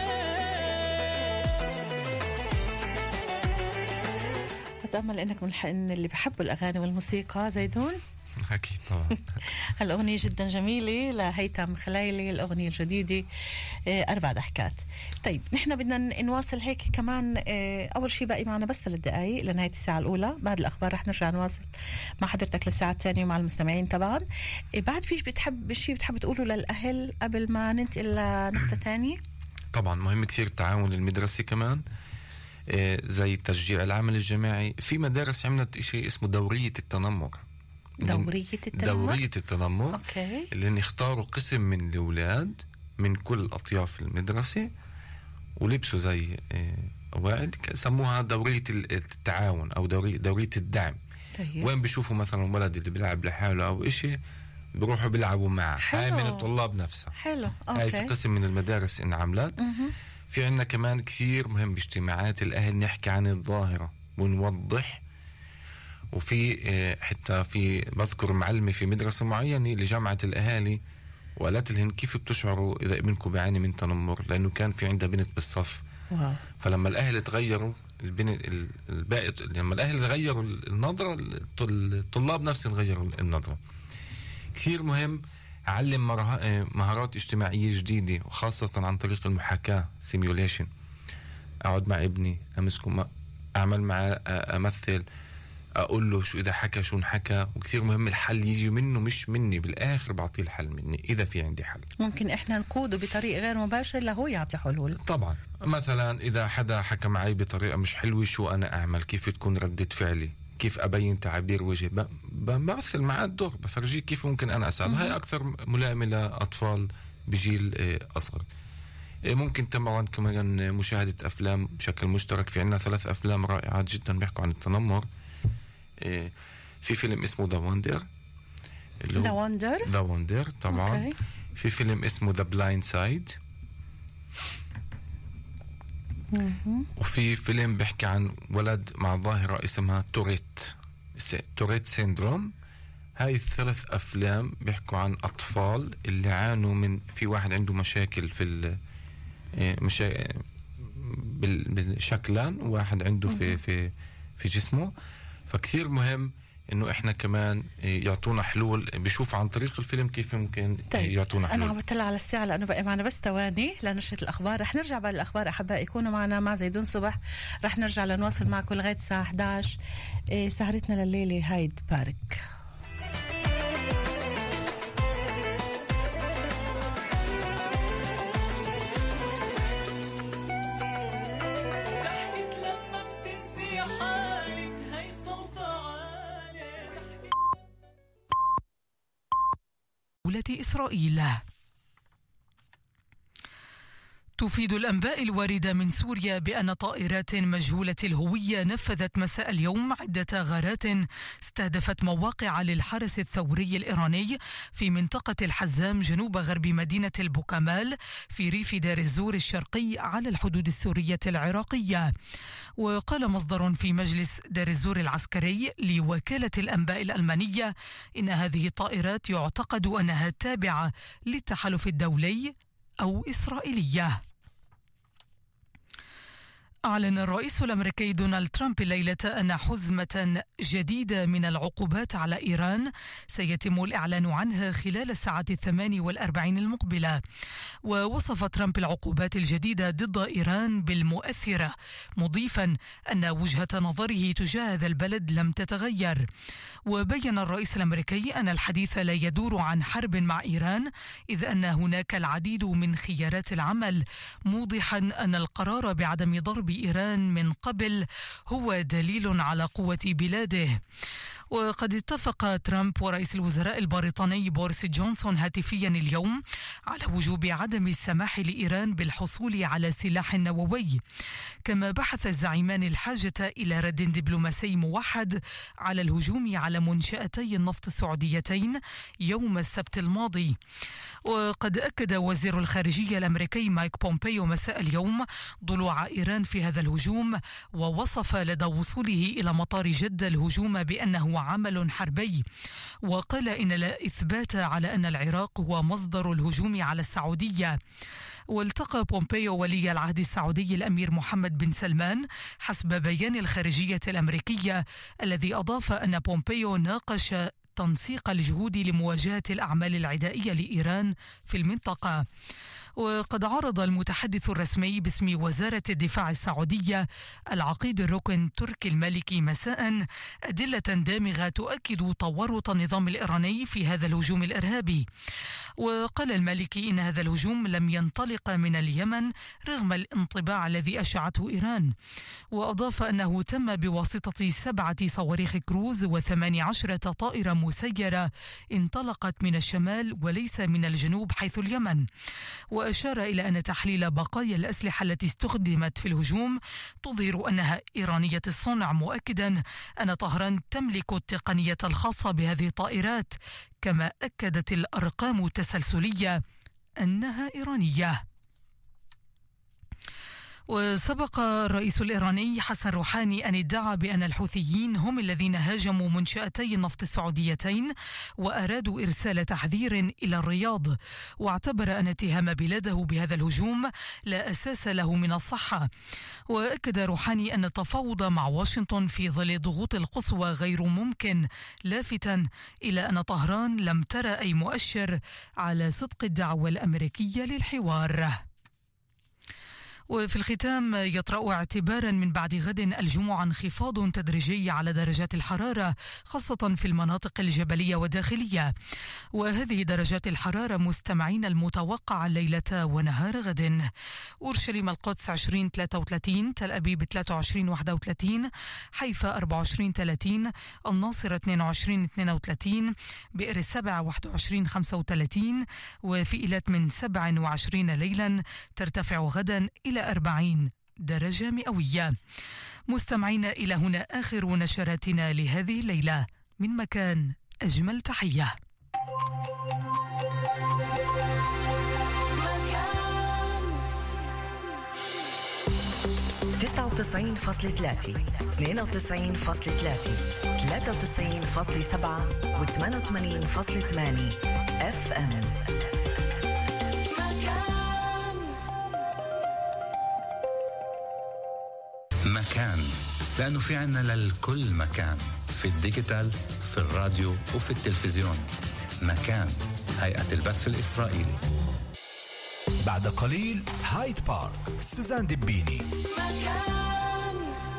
بتأمل إنك من الحين اللي بحبوا الأغاني والموسيقى زيدون. أكيد طبعا. هالأغنية جدا جميلة لهيثم خلايلي، الأغنية الجديدة أربع ضحكات. طيب نحن بدنا نواصل هيك كمان. أول شيء باقي معنا بس ثلاث دقايق لنهاية الساعة الأولى. بعد الأخبار رح نرجع نواصل مع حضرتك للساعة الثانية ومع المستمعين طبعا. بعد فيش بتحب شيء بتحب تقوله للأهل قبل ما ننتقل لنقطة ثانية؟ طبعا مهم كثير التعاون المدرسي كمان، زي تشجيع العمل الجماعي. في مدارس عملت شيء اسمه دورية التنمر. دورية التنمر؟ دورية التنمر. أوكي. اللي اختاروا قسم من الأولاد من كل أطياف المدرسة ولبسوا زي قواعد سموها دورية التعاون أو دورية, دورية الدعم. طيب. وين بيشوفوا مثلا ولد اللي بيلعب لحاله أو إشي بيروحوا بيلعبوا معه. هاي من الطلاب نفسها. حلو. أوكي. هاي في قسم من المدارس إن عملت. في عنا كمان كثير مهم باجتماعات الأهل نحكي عن الظاهرة ونوضح. وفي حتى في بذكر معلمة في مدرسة معينة لجامعة الأهالي وقالت لهم كيف بتشعروا إذا ابنكم بيعاني من تنمر، لأنه كان في عندها بنت بالصف. واو. فلما الأهل تغيروا البنت الباقي، لما الأهل تغيروا النظرة الطلاب نفسهم غيروا النظرة. كثير مهم أعلم مهارات اجتماعية جديدة وخاصة عن طريق المحاكاة سيميوليشن. أقعد مع ابني أمسكه أعمل معه أمثل أقول له شو إذا حكى شو نحكى. وكثير مهم الحل يجي منه مش مني، بالآخر بعطيه الحل مني إذا في عندي حل. ممكن إحنا نقوده بطريقة غير مباشرة لهو يعطي حلول. طبعا مثلا إذا حدا حكى معي بطريقة مش حلوة شو أنا أعمل، كيف تكون ردة فعلي، كيف أبين تعابير وجهي، بمثل معاه الدور بفرجيه كيف ممكن أنا أساعده. هاي أكثر ملائمة لأطفال بجيل أصغر. ممكن طبعا كمان مشاهدة أفلام بشكل مشترك. في عنا ثلاث أفلام رائعات جدا بيحكوا عن التنمر. في فيلم اسمه ذا وندر. ذا وندر ذا وندر طبعا. أوكي. في فيلم اسمه ذا بلايند سايد. وفي فيلم بيحكي عن ولد مع ظاهرة اسمها توريت. توريت سيندروم. هاي الثلاث أفلام بيحكوا عن أطفال اللي عانوا من، في واحد عنده مشاكل في ال مشا... بالشكلان، وواحد عنده في في في جسمه. فكثير مهم إنه إحنا كمان يعطونا حلول، بيشوف عن طريق الفيلم كيف ممكن طيب. يعطونا حلول. أنا عم بطلع على الساعة لأنه بقى معنا بس ثواني لنشرة الأخبار. رح نرجع بعد الأخبار أحبائي، يكونوا معنا مع زيدون صبح. رح نرجع لنواصل معكم لغاية الساعة إحدى عشر. إيه سهرتنا لليلة هايد بارك. دولة إسرائيل. تفيد الأنباء الواردة من سوريا بأن طائرات مجهولة الهوية نفذت مساء اليوم عدة غارات استهدفت مواقع للحرس الثوري الإيراني في منطقة الحزام جنوب غرب مدينة البوكمال في ريف دير الزور الشرقي على الحدود السورية العراقية. وقال مصدر في مجلس دير الزور العسكري لوكالة الأنباء الألمانية إن هذه الطائرات يعتقد أنها تابعة للتحالف الدولي أو إسرائيلية. أعلن الرئيس الأمريكي دونالد ترامب الليلة أن حزمة جديدة من العقوبات على إيران سيتم الإعلان عنها خلال الساعة الثمان والأربعين المقبلة. ووصف ترامب العقوبات الجديدة ضد إيران بالمؤثرة، مضيفا أن وجهة نظره تجاه هذا البلد لم تتغير. وبين الرئيس الأمريكي أن الحديث لا يدور عن حرب مع إيران، إذ أن هناك العديد من خيارات العمل، موضحا أن القرار بعدم ضرب إيران من قبل هو دليل على قوة بلاده. وقد اتفق ترامب ورئيس الوزراء البريطاني بوريس جونسون هاتفيا اليوم على وجوب عدم السماح لإيران بالحصول على سلاح نووي. كما بحث الزعيمان الحاجة إلى رد دبلوماسي موحد على الهجوم على منشأتي النفط السعوديتين يوم السبت الماضي. وقد أكد وزير الخارجية الأمريكي مايك بومبيو مساء اليوم ضلوع إيران في هذا الهجوم، ووصف لدى وصوله إلى مطار جدة الهجوم بأنه عمل حربي. وقال إن لا إثبات على أن العراق هو مصدر الهجوم على السعودية. والتقى بومبيو ولي العهد السعودي الأمير محمد بن سلمان حسب بيان الخارجية الأمريكية، الذي أضاف أن بومبيو ناقش تنسيق الجهود لمواجهة الأعمال العدائية لإيران في المنطقة. وقد عرض المتحدث الرسمي باسم وزارة الدفاع السعودية العقيد الركن تركي المالكي مساء أدلة دامغة تؤكد تورط النظام الإيراني في هذا الهجوم الإرهابي. وقال المالكي إن هذا الهجوم لم ينطلق من اليمن رغم الانطباع الذي أشعته إيران. وأضاف أنه تم بواسطة سبعة صواريخ كروز وثمان عشرة طائرة مسيرة انطلقت من الشمال وليس من الجنوب حيث اليمن. وأشار إلى أن تحليل بقايا الأسلحة التي استخدمت في الهجوم تظهر أنها إيرانية الصنع، مؤكدا أن طهران تملك التقنية الخاصة بهذه الطائرات. كما أكدت الأرقام التسلسلية أنها إيرانية. وسبق الرئيس الإيراني حسن روحاني أن ادعى بأن الحوثيين هم الذين هاجموا منشأتي النفط السعوديتين وأرادوا إرسال تحذير إلى الرياض. واعتبر أن اتهام بلاده بهذا الهجوم لا أساس له من الصحة. وأكد روحاني أن التفاوض مع واشنطن في ظل ضغوط القصوى غير ممكن، لافتا إلى أن طهران لم ترى أي مؤشر على صدق الدعوة الأمريكية للحوار. وفي الختام يطرأ اعتبارا من بعد غد الجمعة انخفاض تدريجي على درجات الحرارة خاصة في المناطق الجبلية والداخلية. وهذه درجات الحرارة مستمعين المتوقعة ليلة ونهار غد: أورشليم القدس عشرين ثلاثة وثلاثين، تل أبيب ثلاثة وعشرين واحد وثلاثين، حيفا أربعة وعشرين ثلاثين، الناصرة اثنين وعشرين اثنين وثلاثين، بئر السبع واحد وعشرين خمسة وثلاثين، وفي إيلات من سبع وعشرين ليلا ترتفع غدا إلى أربعين درجة مئوية. مستمعين، إلى هنا آخر نشراتنا لهذه الليلة. من مكان أجمل تحية. مكان تسعة وتسعين فاصلة ثلاثة اثنين وتسعين فاصلة ثلاثة ثلاثة وتسعين فاصلة سبعة وثمانية وثمانين فاصلة ثمانية اف ام. مكان، لأنه في عنا للكل مكان، في الديجيتال، في الراديو وفي التلفزيون. مكان، هيئة البث الإسرائيلي. بعد قليل هايد بارك، سوزان دبيني. مكان.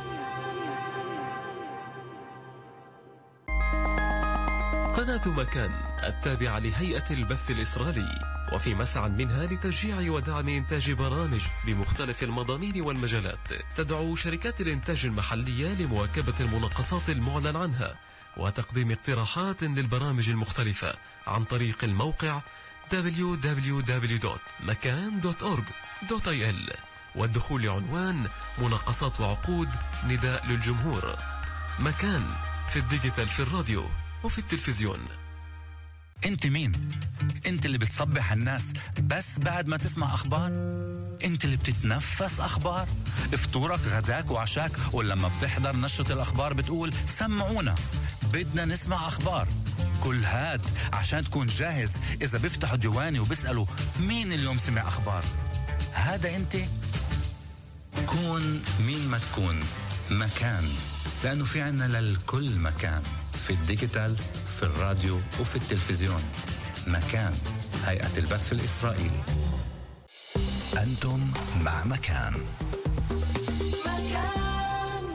قناة مكان التابعة لهيئة البث الإسرائيلي، وفي مسعى منها لتشجيع ودعم إنتاج برامج بمختلف المضامين والمجالات. تدعو شركات الإنتاج المحلية لمواكبة المناقصات المعلن عنها وتقديم اقتراحات للبرامج المختلفة عن طريق الموقع دبليو دبليو دبليو دوت مكان دوت أورج دوت آي إل، والدخول لعنوان مناقصات وعقود نداء للجمهور. مكان، في الديجيتال، في الراديو وفي التلفزيون. انت مين؟ انت اللي بتصبح الناس بس بعد ما تسمع اخبار؟ انت اللي بتتنفس اخبار؟ فطورك غداك وعشاك، ولما بتحضر نشرة الاخبار بتقول سمعونا بدنا نسمع اخبار؟ كل هاد عشان تكون جاهز اذا بيفتحوا ديواني وبيسألوا مين اليوم سمع اخبار. هذا انت. كون مين ما تكون. مكان، لانه في عنا للكل مكان، في الديجيتال، في الراديو وفي التلفزيون. مكان، هيئة البث الإسرائيلي. أنتم مع مكان. مكان.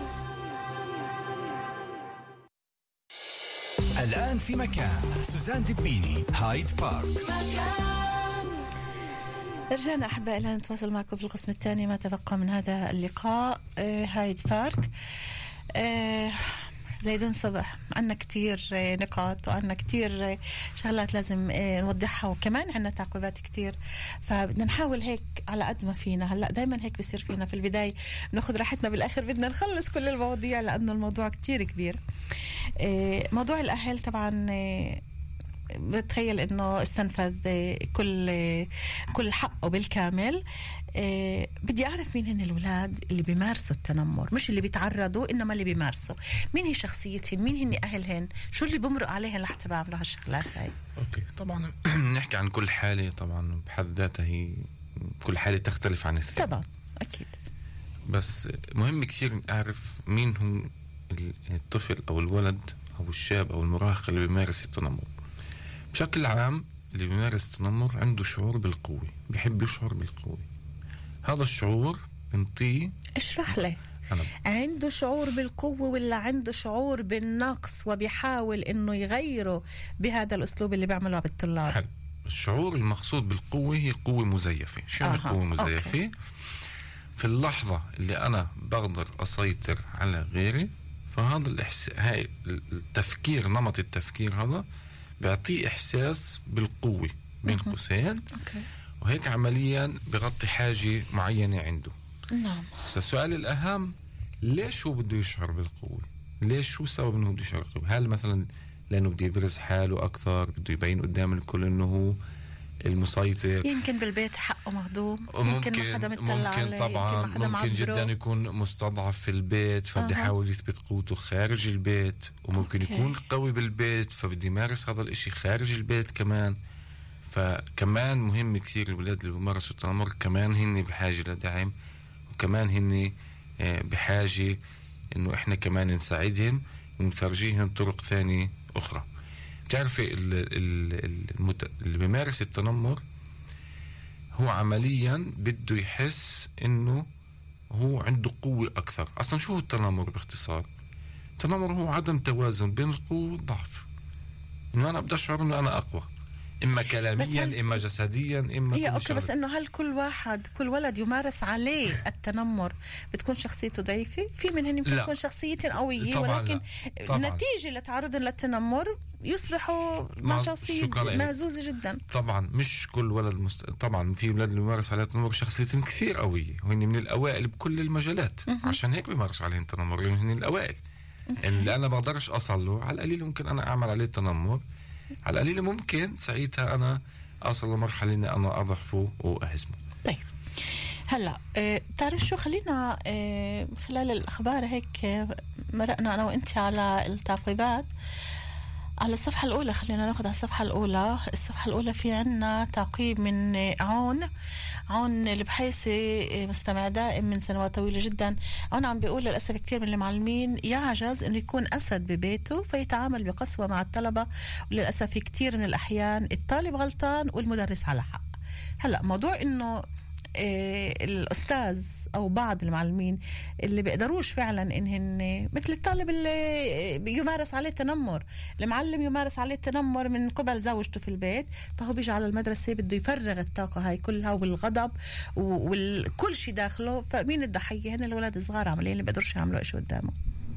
الآن في مكان، سوزان دبيني، هايد بارك. مكان. رجعنا أحبائنا نتواصل معكم في القسم الثاني ما تبقى من هذا اللقاء. آه هايد بارك. آه زيدون صبح، عنا كتير نقاط وعنا كتير شغلات لازم نوضحها، وكمان عنا تعقيبات كتير، فبدنا نحاول هيك على قد ما فينا. هلأ دايما هيك بيصير فينا في البداية ناخد راحتنا، بالآخر بدنا نخلص كل المواضيع لأنه الموضوع كتير كبير. موضوع الأهل طبعا بتخيل انه استنفذ كل كل حقه بالكامل. أه بدي أعرف مين هن الأولاد اللي بيمارسوا التنمر، مش اللي بيتعرضوا إنما اللي بيمارسوا. مين هي شخصيتهن؟ مين هن أهلهن؟ شو اللي بمرق عليهن لحتى بعملوا هالشغلات هاي؟ أوكي، طبعا نحكي عن كل حالة، طبعا بحد ذاتها هي كل حالة تختلف عن الثانية طبعا أكيد، بس مهم كثير أعرف مين هو الطفل أو الولد أو الشاب أو المراهق اللي بيمارس التنمر. بشكل عام اللي بيمارس التنمر عنده شعور بالقوة، بيحب يشعر بالقوة. هذا الشعور بنطيه. اشرح لي. عنده شعور بالقوة ولا عنده شعور بالنقص وبيحاول انه يغيره بهذا الاسلوب اللي بيعمله بالطلاب؟ حل. الشعور المقصود بالقوة هي قوة مزيفة. شو يعني قوة مزيفة؟ أوكي. في اللحظة اللي أنا بقدر أسيطر على غيري، فهذا الإحس... هاي التفكير، نمط التفكير هذا بيعطيه إحساس بالقوة بين قوسين، وهيك عمليا بغطي حاجة معينة عنده. نعم. السؤال الأهم، ليش هو بده يشعر بالقوة؟ ليش؟ شو سبب انه بده يشعر بالقوة؟ هل مثلا لأنه بده يبرز حاله أكثر، بده يبين قدام الكل إنه هو المسيطر؟ يمكن بالبيت حقه مهضوم، ممكن يمكن ما حدا مطلع ممكن عليه، طبعا يمكن, ممكن جدا يكون مستضعف في البيت فبده يحاول أه. يثبت قوته خارج البيت، وممكن أوكي. يكون قوي بالبيت فبده يمارس هذا الاشي خارج البيت كمان. فكمان مهم كثير الولاد اللي بيمارسوا التنمر كمان هن بحاجة لدعم، وكمان هن بحاجة انه احنا كمان نساعدهم ونفرجيهم طرق ثانية اخرى. بتعرفي اللي بيمارس التنمر هو عمليا بده يحس انه هو عنده قوة اكثر. اصلا شو هو التنمر باختصار؟ التنمر هو عدم توازن بين القوة والضعف، انه انا بدي اشعر انه انا اقوى، اما كلاميا هل... اما جسديا اما هي اوكي. بس انه هل كل واحد كل ولد يمارس عليه التنمر بتكون شخصيته ضعيفة؟ في منهم يمكن تكون شخصيتهم قوية ولكن نتيجة لتعرضهم للتنمر يصبحوا مع شخصية مهزوزة جدا. طبعا مش كل ولد مست... طبعا في ولاد اللي بيمارس عليه التنمر شخصيتهم كثير قوية وهن من الاوائل بكل المجالات، م- عشان هيك بيمارس عليهم التنمر لانه هن الاوائل. اللي انا بقدرش اصل له على القليل ممكن انا اعمل عليه التنمر، على القليل ممكن ساعتها أنا أصل لمرحلة إني أنا أضعفه وأهزمه. طيب هلا آه، تعرف شو، خلينا آه، خلال الأخبار هيك آه، مرقنا أنا وإنت على التعقيبات على الصفحة الأولى. خلينا ناخد على الصفحة الأولى. الصفحة الأولى في عنا تعقيب من آه، عون عون البحيثي، مستمع دائم من سنوات طويلة جدا. عون عم بيقول للأسف كثير من المعلمين يعجز إنه يكون أسد ببيته فيتعامل بقسوة مع الطلبة، وللأسف في كثير من الأحيان الطالب غلطان والمدرس على حق. هلأ موضوع إنه إيه الأستاذ أو بعض المعلمين اللي بيقدروش فعلا إنهن مثل الطالب اللي يمارس عليه التنمر، المعلم يمارس عليه التنمر من قبل زوجته في البيت، فهو بيجي على المدرسة بده يفرغ الطاقة هاي كلها والغضب وكل شيء داخله. فمين الضحية؟ هن الولاد الصغار عمليين اللي بيقدروش يعملوا إيش قدامه.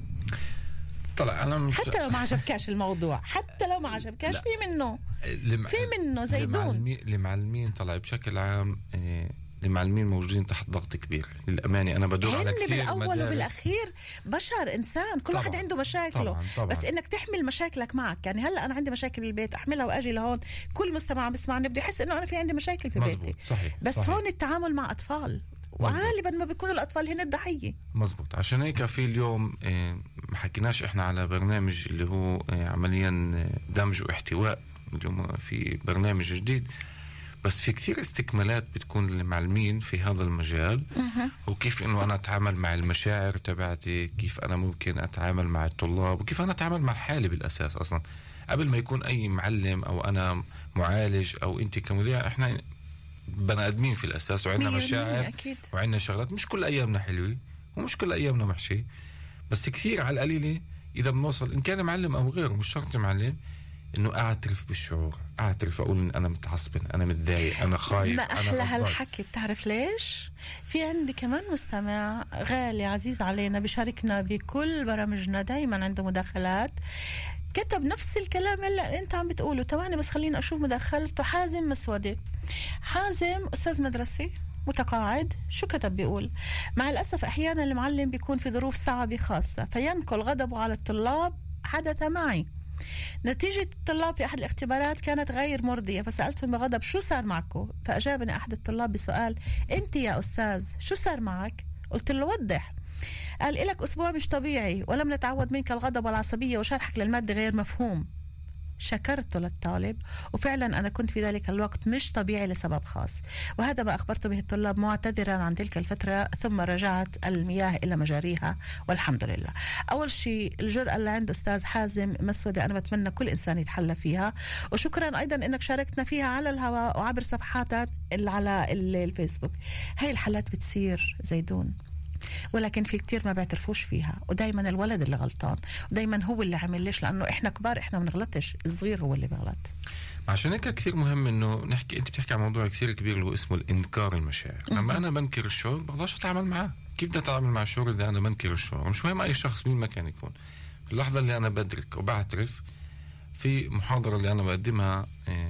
طلع أنا مش... حتى لو ما عجبكاش الموضوع، حتى لو ما عجبكاش في منه لم... في منه زيدون لمعلمين طلع بشكل عام. إيه... المعلمين موجودين تحت ضغط كبير للأمانة. أنا بدور على كثير بالأول مدارس. وبالأخير بشر إنسان، كل طبعًا. واحد عنده مشاكله. طبعًا. طبعًا. بس إنك تحمل مشاكلك معك. يعني هلأ أنا عندي مشاكل بالبيت أحملها وأجي لهون، كل مستمع بسمعني بده يحس إنه أنا في عندي مشاكل في مزبوط. بيتي. صحيح. بس صحيح. هون التعامل مع أطفال مزبوط. وغالبا ما بيكونوا الأطفال هن الضحية. مزبوط. عشان هيك في اليوم إيه ما حكيناش إحنا على برنامج اللي هو إيه عمليا دمج واحتواء. اليوم في برنامج جديد، بس في كثير استكمالات بتكون للمعلمين في هذا المجال. وكيف انه انا اتعامل مع المشاعر تبعتي، كيف انا ممكن اتعامل مع الطلاب، وكيف انا اتعامل مع حالي بالاساس. اصلا قبل ما يكون اي معلم او انا معالج او انت كمذيع، احنا بني ادمين في الاساس وعندنا مشاعر وعندنا شغلات. مش كل ايامنا حلوه ومش كل ايامنا محشي، بس كثير على القليله اذا بنوصل ان كان معلم او غيره، مش شرط معلم، انه اعترف بالشعور، اعترف اقول ان انا متعصب، انا متضايق، انا خايف. ما احلى هالحكي. بتعرف ليش؟ في عندي كمان مستمع غالي عزيز علينا بشاركنا بكل برامجنا، دايما عنده مداخلات، كتب نفس الكلام اللي انت عم بتقوله. تواني بس خلينا اشوف مداخلته. حازم مسودي. حازم استاذ مدرسي متقاعد. شو كتب؟ بيقول: مع الاسف احيانا المعلم بيكون في ظروف صعبه خاصه فينقل غضبه على الطلاب. حدث معي. نتيجة الطلاب في أحد الاختبارات كانت غير مرضية، فسألتهم بغضب: شو صار معكم؟ فأجابني أحد الطلاب بسؤال: أنت يا أستاذ شو صار معك؟ قلت له: وضح. قال: إلك أسبوع مش طبيعي ولم نتعود منك الغضب والعصبية وشرحك للمادة غير مفهوم. شكرته للطالب، وفعلا أنا كنت في ذلك الوقت مش طبيعي لسبب خاص، وهذا ما أخبرت به الطلاب معتذرا عن تلك الفترة، ثم رجعت المياه إلى مجاريها والحمد لله. أول شيء الجرأة اللي عند أستاذ حازم مسودة أنا بتمنى كل إنسان يتحلى فيها، وشكرا أيضا أنك شاركتنا فيها على الهواء وعبر صفحاتك على الفيسبوك. هاي الحالات بتصير زيدون، ولكن في كتير ما بيعترفوش فيها، ودايما الولد اللي غلطان، ودايما هو اللي عمل. ليش؟ لأنه إحنا كبار إحنا ما بنغلطش، الصغير هو اللي بغلط. عشان هيك كتير مهم إنه نحكي. أنت بتحكي عن موضوع كتير كبير اللي هو اسمه الإنكار المشاعر. لما أنا بنكر الشعور بقدرش أتعامل معاه. كيف بدي أتعامل مع الشعور إذا أنا بنكر الشعور؟ مش مهم أي شخص مين ما كان يكون. في اللحظة اللي أنا بدرك وبعترف، في محاضرة اللي أنا بقدمها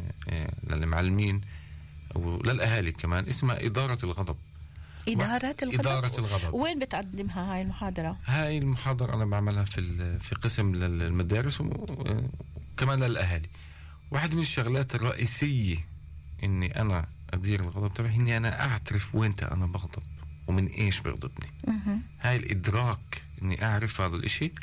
للمعلمين وللأهالي كمان اسمها إدارة الغضب. إدارة الغضب. إدارة الغضب. وين بتقدمها هاي المحاضرة؟ هاي المحاضرة أنا بعملها في في قسم للمدارس وكمان للأهالي. واحد من الشغلات الرئيسية إني أنا أدير الغضب تبعي إني أنا أعترف وينت أنا بغضب ومن إيش بغضبني. هاي الإدراك إني أعرف هذا الإشي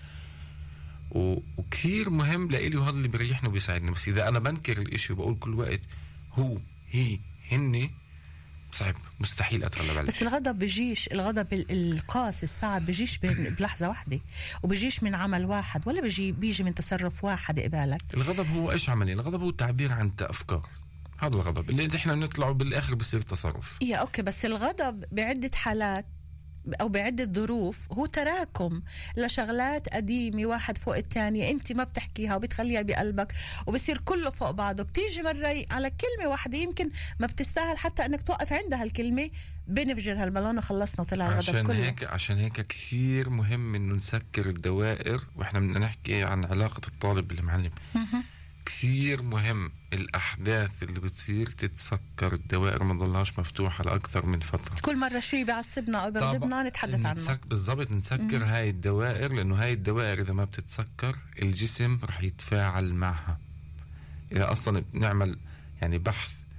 وكثير مهم لإلي، وهذا اللي بريحني وبيساعدني. بس إذا أنا بنكر الإشي وبقول كل وقت هو هي هني، صعب مستحيل أتغلب عليه. بس الغضب بيجيش، الغضب القاسي الصعب بيجيش بلحظة واحدة، وبيجيش من عمل واحد، ولا بيجي بيجي من تصرف واحد قبالك. الغضب هو إيش عملي؟ الغضب هو تعبير عن أفكار. هذا الغضب اللي إحنا بنطلعه بالآخر بصير تصرف. يا أوكي، بس الغضب بعدة حالات أو بعدة ظروف هو تراكم لشغلات قديمة واحد فوق الثانية، أنت ما بتحكيها وبتخليها بقلبك وبصير كله فوق بعضه. بتيجي مرة على كلمة واحدة يمكن ما بتستاهل حتى أنك توقف عندها الكلمة، بنفجر هالبالون وخلصنا وطلع الغضب عشان كله. هيك عشان هيك كثير مهم إنه نسكر الدوائر. وإحنا بدنا نحكي عن علاقة الطالب بالمعلم. كثير مهم الأحداث اللي بتصير تتسكر، الدوائر ما تضلهاش مفتوحة لأكثر من فترة. كل مرة شيء بيعصبنا أو بيغضبنا نتحدث عنه. بالضبط، نسكر هاي الدوائر، لأنه هاي الدوائر إذا ما بتتسكر الجسم رح يتفاعل معها. إذا أصلا بنعمل يعني بحث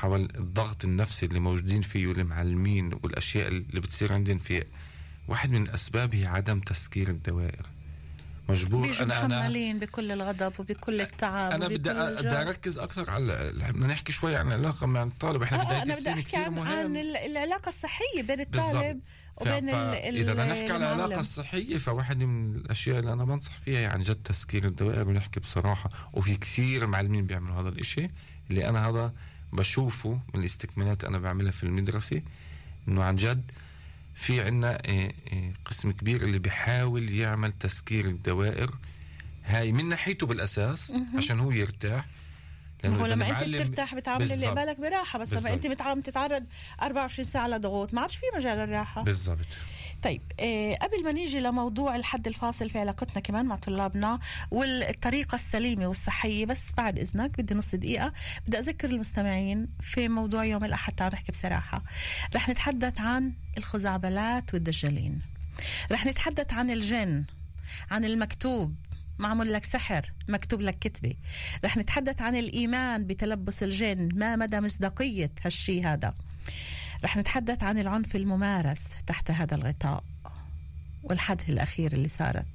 حول الضغط النفسي اللي موجودين فيه والمعلمين والأشياء اللي بتصير عندهم فيه. واحد من الأسباب هي عدم تسكير الدوائر. مجبور بيجوا أنا أنا محملين بكل الغضب وبكل التعب. أنا بدي بدي أركز أكثر على بدنا نحكي شوي عن العلاقة مع الطالب. إحنا آه بداية أنا بدي أحكي عن, عن العلاقة الصحية بين الطالب وبين ال إذا بدنا نحكي عن العلاقة الصحية، فواحد من الأشياء اللي أنا بنصح فيها يعني جد تسكير الدوائر، ونحكي بصراحة. وفي كثير معلمين بيعملوا هذا الإشي اللي أنا هذا بشوفه من الاستكمالات أنا بعملها في المدرسة، إنه عن جد في عنا قسم كبير اللي بيحاول يعمل تسكير الدوائر هاي من ناحيته بالأساس عشان هو يرتاح. هو لما انت بترتاح بتعامل اللي قبالك براحه، بس لما انت بتعامل تتعرض أربعة وعشرين ساعه لضغوط ما عادش في مجال الراحه. بالضبط. طيب آه قبل ما نيجي لموضوع الحد الفاصل في علاقتنا كمان مع طلابنا والطريقة السليمة والصحية، بس بعد إذنك بدي نص دقيقة بدي أذكر المستمعين في موضوع يوم الأحد. تعالوا نحكي بصراحة. رح نتحدث عن الخزعبلات والدجالين، رح نتحدث عن الجن، عن المكتوب معمول لك سحر مكتوب لك كتبة، رح نتحدث عن الإيمان بتلبس الجن، ما مدى مصداقية هالشي هذا، رح نتحدث عن العنف الممارس تحت هذا الغطاء، والحدث الأخير اللي صارت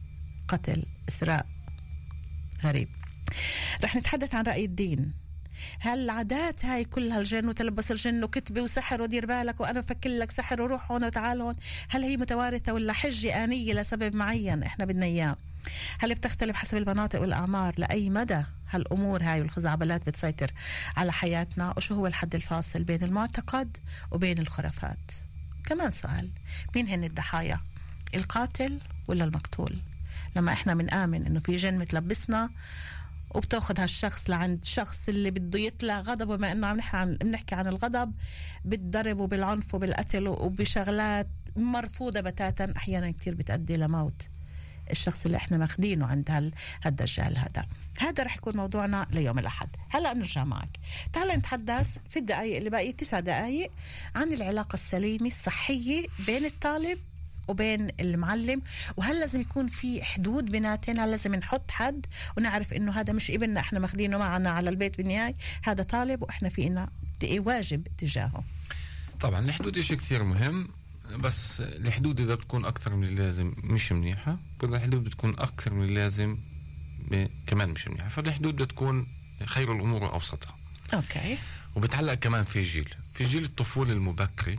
قتل إسراء غريب. رح نتحدث عن رأي الدين، هل العادات هاي كلها الجن وتلبس الجن وكتبة وسحر ودير بالك وأنا بفكر لك سحر وروح هون وتعال هون، هل هي متوارثة ولا حجة آنية لسبب معين إحنا بدنا إياه؟ هل بتختلف حسب المناطق والأعمار؟ لأي مدى هالأمور هاي والخزعبلات بتسيطر على حياتنا؟ وشو هو الحد الفاصل بين المعتقد وبين الخرافات؟ كمان سؤال، مين هن الضحايا، القاتل ولا المقتول؟ لما إحنا منآمن إنه في جن متلبسنا وبتاخد هالشخص لعند شخص اللي بده يطلع غضبه، بما إنه عم نحكي عن بنحكي عن الغضب، بالضرب وبالعنف وبالقتل وبشغلات مرفوضة بتاتا، أحيانا كتير بتأدي لموت الشخص اللي احنا ماخدينه عند هالدجال هذا. هذا رح يكون موضوعنا ليوم الأحد. هلأ بنرجع معك، تعال نتحدث في الدقائق اللي باقي تسع دقائق عن العلاقة السليمة الصحية بين الطالب وبين المعلم، وهل لازم يكون في حدود بيناتنا؟ لازم نحط حد ونعرف انه هذا مش ابننا احنا ماخدينه معنا على البيت، بالنهاية هذا طالب واحنا فينا واجب تجاهه. طبعا الحدود شيء كثير مهم، بس الحدود إذا بتكون أكثر من اللازم مش منيحة، كل الحدود بتكون أكثر من اللازم كمان مش منيحة. فالحدود بتكون خير الأمور وأوسطها. أوكي. وبتعلق كمان في جيل في جيل الطفولة المبكرة.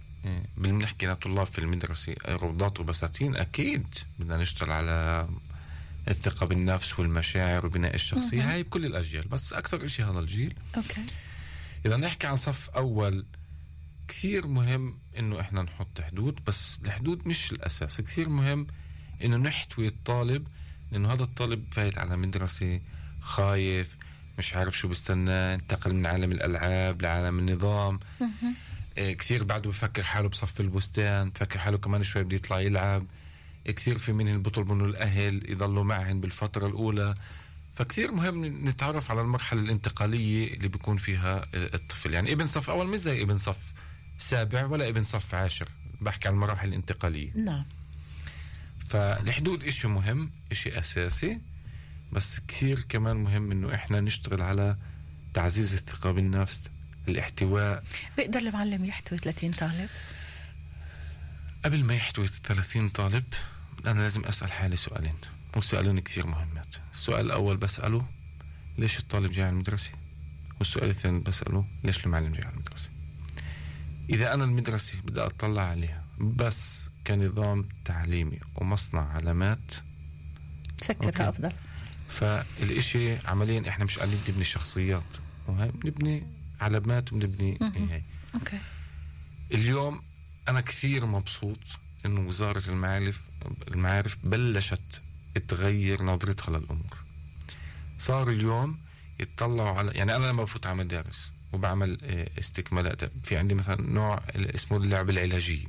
بنحكي لطلاب في المدرسة روضات وبساتين، أكيد بدنا نشتغل على الثقة بالنفس والمشاعر وبناء الشخصية. مم. هاي بكل الأجيال، بس أكثر إشي هذا الجيل. أوكي. إذا نحكي عن صف أول، كثير مهم إنه إحنا نحط حدود، بس الحدود مش الأساس. كثير مهم إنه نحتوي الطالب، لأنه هذا الطالب فايت على مدرسة خايف، مش عارف شو بستنى، انتقل من عالم الألعاب لعالم النظام. إيه كثير بعده بفكر حاله بصف البستان، بفكر حاله كمان شوي بده يطلع يلعب. كثير في منهم بيطلبوا إنه الأهل يضلوا معهم بالفترة الأولى. فكثير مهم نتعرف على المرحلة الانتقالية اللي بيكون فيها الطفل. يعني ابن صف أول مش زي ابن صف سابع ولا ابن صف عاشر، بحكي عن المراحل الانتقالية. نعم. فالحدود إشي مهم، إشي أساسي، بس كثير كمان مهم إنه إحنا نشتغل على تعزيز الثقة بالنفس، الاحتواء. بيقدر المعلم يحتوي ثلاثين طالب؟ قبل ما يحتوي ثلاثين طالب أنا لازم أسأل حالي سؤالين، والسؤالين كثير مهمات. السؤال الأول بسأله ليش الطالب جاي على المدرسة، والسؤال الثاني بسأله ليش المعلم جاي على المدرسة. إذا أنا المدرسة بدي أطلع عليها بس كنظام تعليمي ومصنع علامات، سكرها أفضل. فالإشي عمليا إحنا مش قاعدين نبني شخصيات، وهي بنبني علامات وبنبني هاي. أوكي. اليوم أنا كثير مبسوط إنه وزارة المعارف المعارف بلشت تغير نظرتها للأمور. صار اليوم يتطلعوا على، يعني أنا لما بفوت على مدارس وبعمل استكمالات، في عندي مثلا نوع اسمه اللعب العلاجي،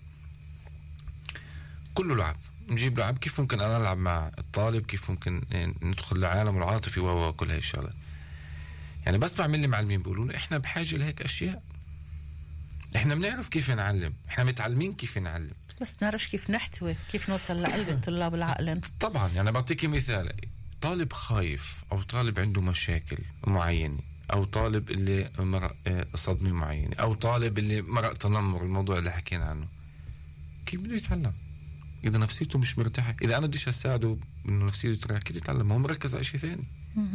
كله لعب، نجيب لعب كيف ممكن أنا ألعب مع الطالب، كيف ممكن ندخل لعالم العاطفي وكل هاي الشغلات. يعني بس بعمل لي معلمين بيقولوا إحنا بحاجة لهيك أشياء، إحنا بنعرف كيف نعلم، إحنا متعلمين كيف نعلم، بس نعرفش كيف نحتوي، كيف نوصل لقلب الطلاب والعقل. طبعا يعني بعطيكي مثال، طالب خايف أو طالب عنده مشاكل معينة أو طالب اللي مرق صدمة معينة، أو طالب اللي مرق تنمر، الموضوع اللي حكينا عنه، كيف بده يتعلم إذا نفسيته مش مرتاحة؟ إذا أنا بديش أساعده إنه نفسيته ترتاح، كيف يتعلم؟ هو مركز على شيء ثاني.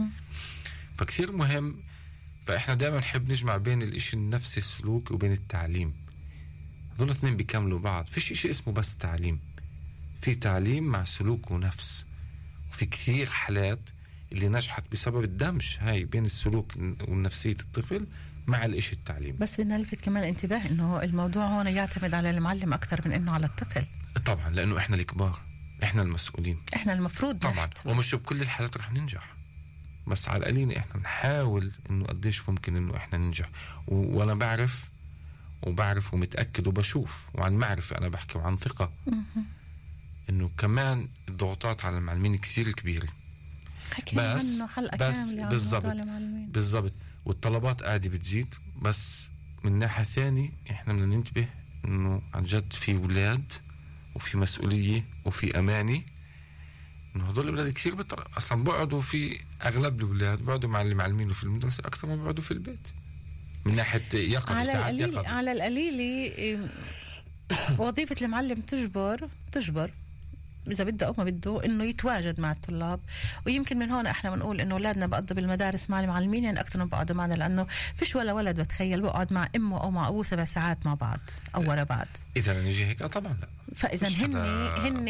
فكثير مهم. فإحنا دائما نحب نجمع بين الإشي النفسي السلوك وبين التعليم، هذول الاثنين بيكملوا بعض. فيش إشي اسمه بس تعليم، في تعليم مع سلوك ونفس. وفي كثير حالات اللي نجحت بسبب الدمج هاي بين السلوك والنفسية الطفل مع الإشي التعليم. بس بدنا نلفت كمان انتباه إنه الموضوع هون يعتمد على المعلم أكثر من إنه على الطفل. طبعا، لأنه إحنا الكبار، إحنا المسؤولين، إحنا المفروض طبعا نحت. ومش بكل الحالات رح ننجح، بس على القليل إحنا نحاول إنه قديش ممكن إنه إحنا ننجح. و... وأنا بعرف وبعرف ومتأكد وبشوف وعن معرفة، أنا بحكي وعن ثقة إنه كمان الضغوطات على المعلمين كثير كبيرة. بس بس بالضبط بالضبط والطلبات قاعدة بتزيد. بس من ناحية ثانية إحنا بدنا ننتبه إنه عن جد في أولاد وفي مسؤولية وفي أمانة، إنه هدول الأولاد كثير بطر... أصلا بقعدوا في أغلب الأولاد بقعدوا مع اللي معلمينه في المدرسة أكثر ما بقعدوا في البيت من ناحية يقظة. على القليل على القليل وظيفة المعلم تجبر تجبر إذا بده أو ما بده إنه يتواجد مع الطلاب. ويمكن من هون إحنا بنقول إنه أولادنا بقضوا بالمدارس مع المعلمين يعني أكثر من بقعدوا معنا، لأنه فيش ولا ولد بتخيل بقعد مع أمه أو مع أبوه سبع ساعات مع بعض أو ورا بعض. إذا نجي هيك طبعا لا. فإذا هن هن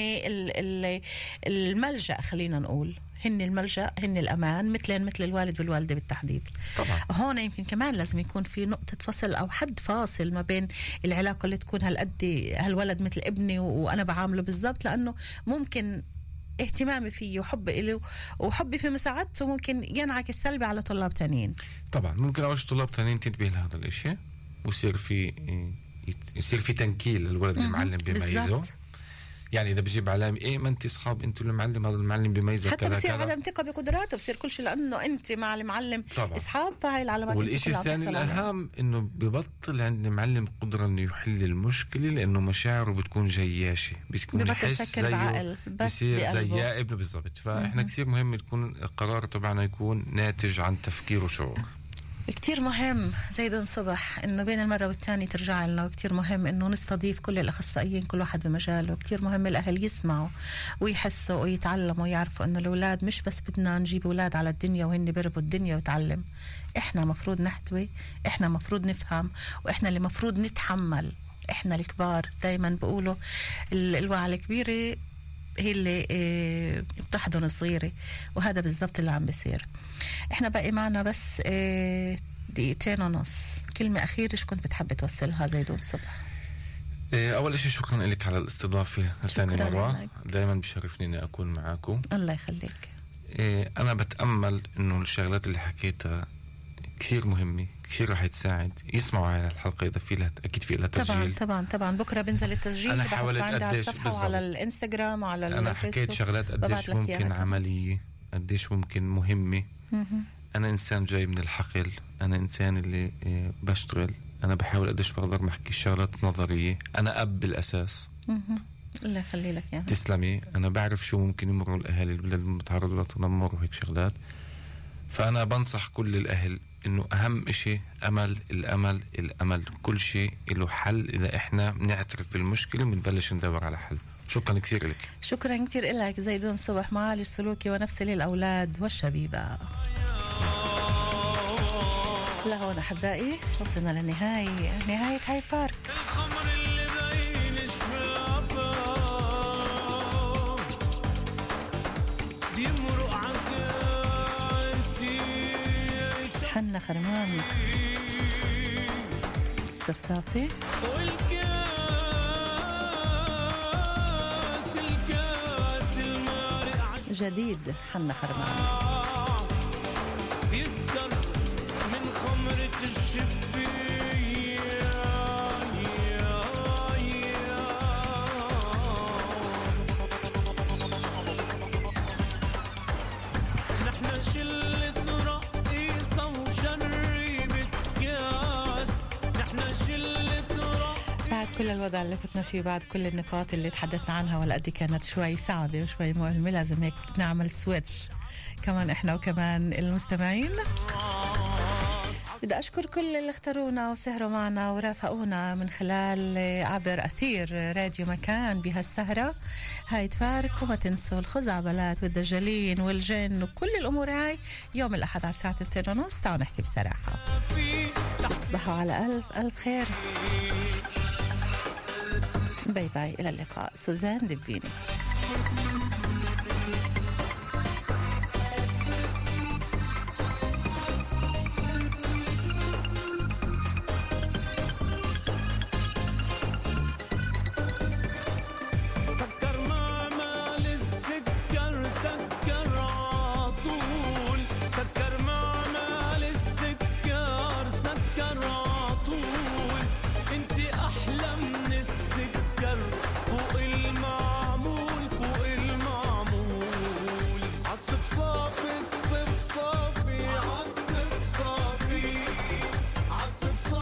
الملجأ، خلينا نقول هن الملجأ، هن الأمان، مثلين مثل الوالد والوالدة بالتحديد. طبعا هون يمكن كمان لازم يكون في نقطة فصل أو حد فاصل ما بين العلاقة اللي تكون هالقد هالولد مثل ابني وأنا بعامله بالضبط، لأنه ممكن اهتمامي فيه وحبي له وحبي في مساعدته ممكن ينعكس سلبي على طلاب تانيين. طبعا ممكن أول طلاب تانيين تنتبه لهذا الإشي ويصير في يصير في تنكيل للولد المعلم بيميزه. يعني إذا بجيب علامة إيه ما أنت أصحاب أنتوا المعلم، هذا المعلم بيميزك حتى بصير عدم ثقة بقدراته، بصير كل شيء لأنه أنت مع المعلم طبعا أصحاب، فهاي العلامات. والإشي الثاني الأهم إنه ببطل عند المعلم قدرة إنه يحل المشكلة، لأنه مشاعره بتكون جياشة، بتكون يحس زيه بصير زي ابنه بالضبط. فإحنا كثير مهم يكون القرار تبعنا يكون ناتج عن تفكير وشعور. كتير مهم زيدون صبح انه بين المرة والتانية ترجع لنا، وكتير مهم انه نستضيف كل الاخصائيين كل واحد بمجاله، وكتير مهم الاهل يسمعوا ويحسوا ويتعلموا ويعرفوا انه الاولاد مش بس بدنا نجيب اولاد على الدنيا وهن بيربوا الدنيا ويتعلم، احنا مفروض نحتوي، احنا مفروض نفهم، واحنا اللي مفروض نتحمل. احنا الكبار دايما بقولوا الوعي الكبيرة هي اللي اه بتحضن الصغيرة، وهذا بالضبط اللي عم بيصير. احنا باقي معنا بس اه دقيقتين ونص، كلمة أخيرة شو كنت بتحب توصلها زيدون صبح؟ اه أول شيء شكرا لك على الاستضافة ثاني مرة، دايما بشرفني إني أكون معاكم. الله يخليك. اه أنا بتأمل إنه الشغلات اللي حكيتها كثير مهمة، كثير رح تساعد. يسمعوا على الحلقة إذا في لها أكيد في لها تسجيل. طبعا طبعا طبعا بكرة بنزل التسجيل. أنا حاولت قديش الصفحة وعلى الإنستغرام وعلى الفيسبوك. أنا حكيت شغلات قديش ممكن عملية، قديش ممكن مهمة. أنا إنسان جاي من الحقل، أنا إنسان اللي بشتغل، أنا بحاول قديش بقدر محكي الشغلات نظرية، أنا أب بالأساس. الله يخلي لك يعني. تسلمي. أنا بعرف شو ممكن يمروا الأهل اللي بتعرضوا لتنمر وهيك شغلات. فأنا بنصح كل الأهل إنه أهم إشي أمل، الأمل الأمل، كل شيء له حل إذا إحنا نعترف بالمشكلة ونبلش ندور على حل. شكرا كثير لك. شكرا كثير لك زيدون صبح، معالج سلوكي ونفسي للأولاد والشبيبة. لهون أحبائي وصلنا للنهاية، نهاية هاي بارك. حنا خرمان السفسافي جديد. حنا خرمان يسكر من خمرة الشفية. نحن شلة رقيصة وشربت كاس، نحن شلة رقيصة. بعد كل الوضع اللي فتنا فيه، بعد كل النقاط اللي تحدثنا عنها والقد كانت شوي صعبة وشوي مؤلمة، لازم هيك نعمل سويتش كمان احنا وكمان المستمعين. بدي أشكر كل اللي اختارونا وسهروا معنا ورافقونا من خلال عبر أثير راديو مكان بهالسهرة هاي. تفارق وما تنسوا الخزعبلات والدجالين والجن وكل الأمور هاي يوم الأحد على الساعة اثنين ونص. تعالوا نحكي بصراحة. تصبحوا على ألف ألف خير. باي باي، إلى اللقاء. سوزان دبيني.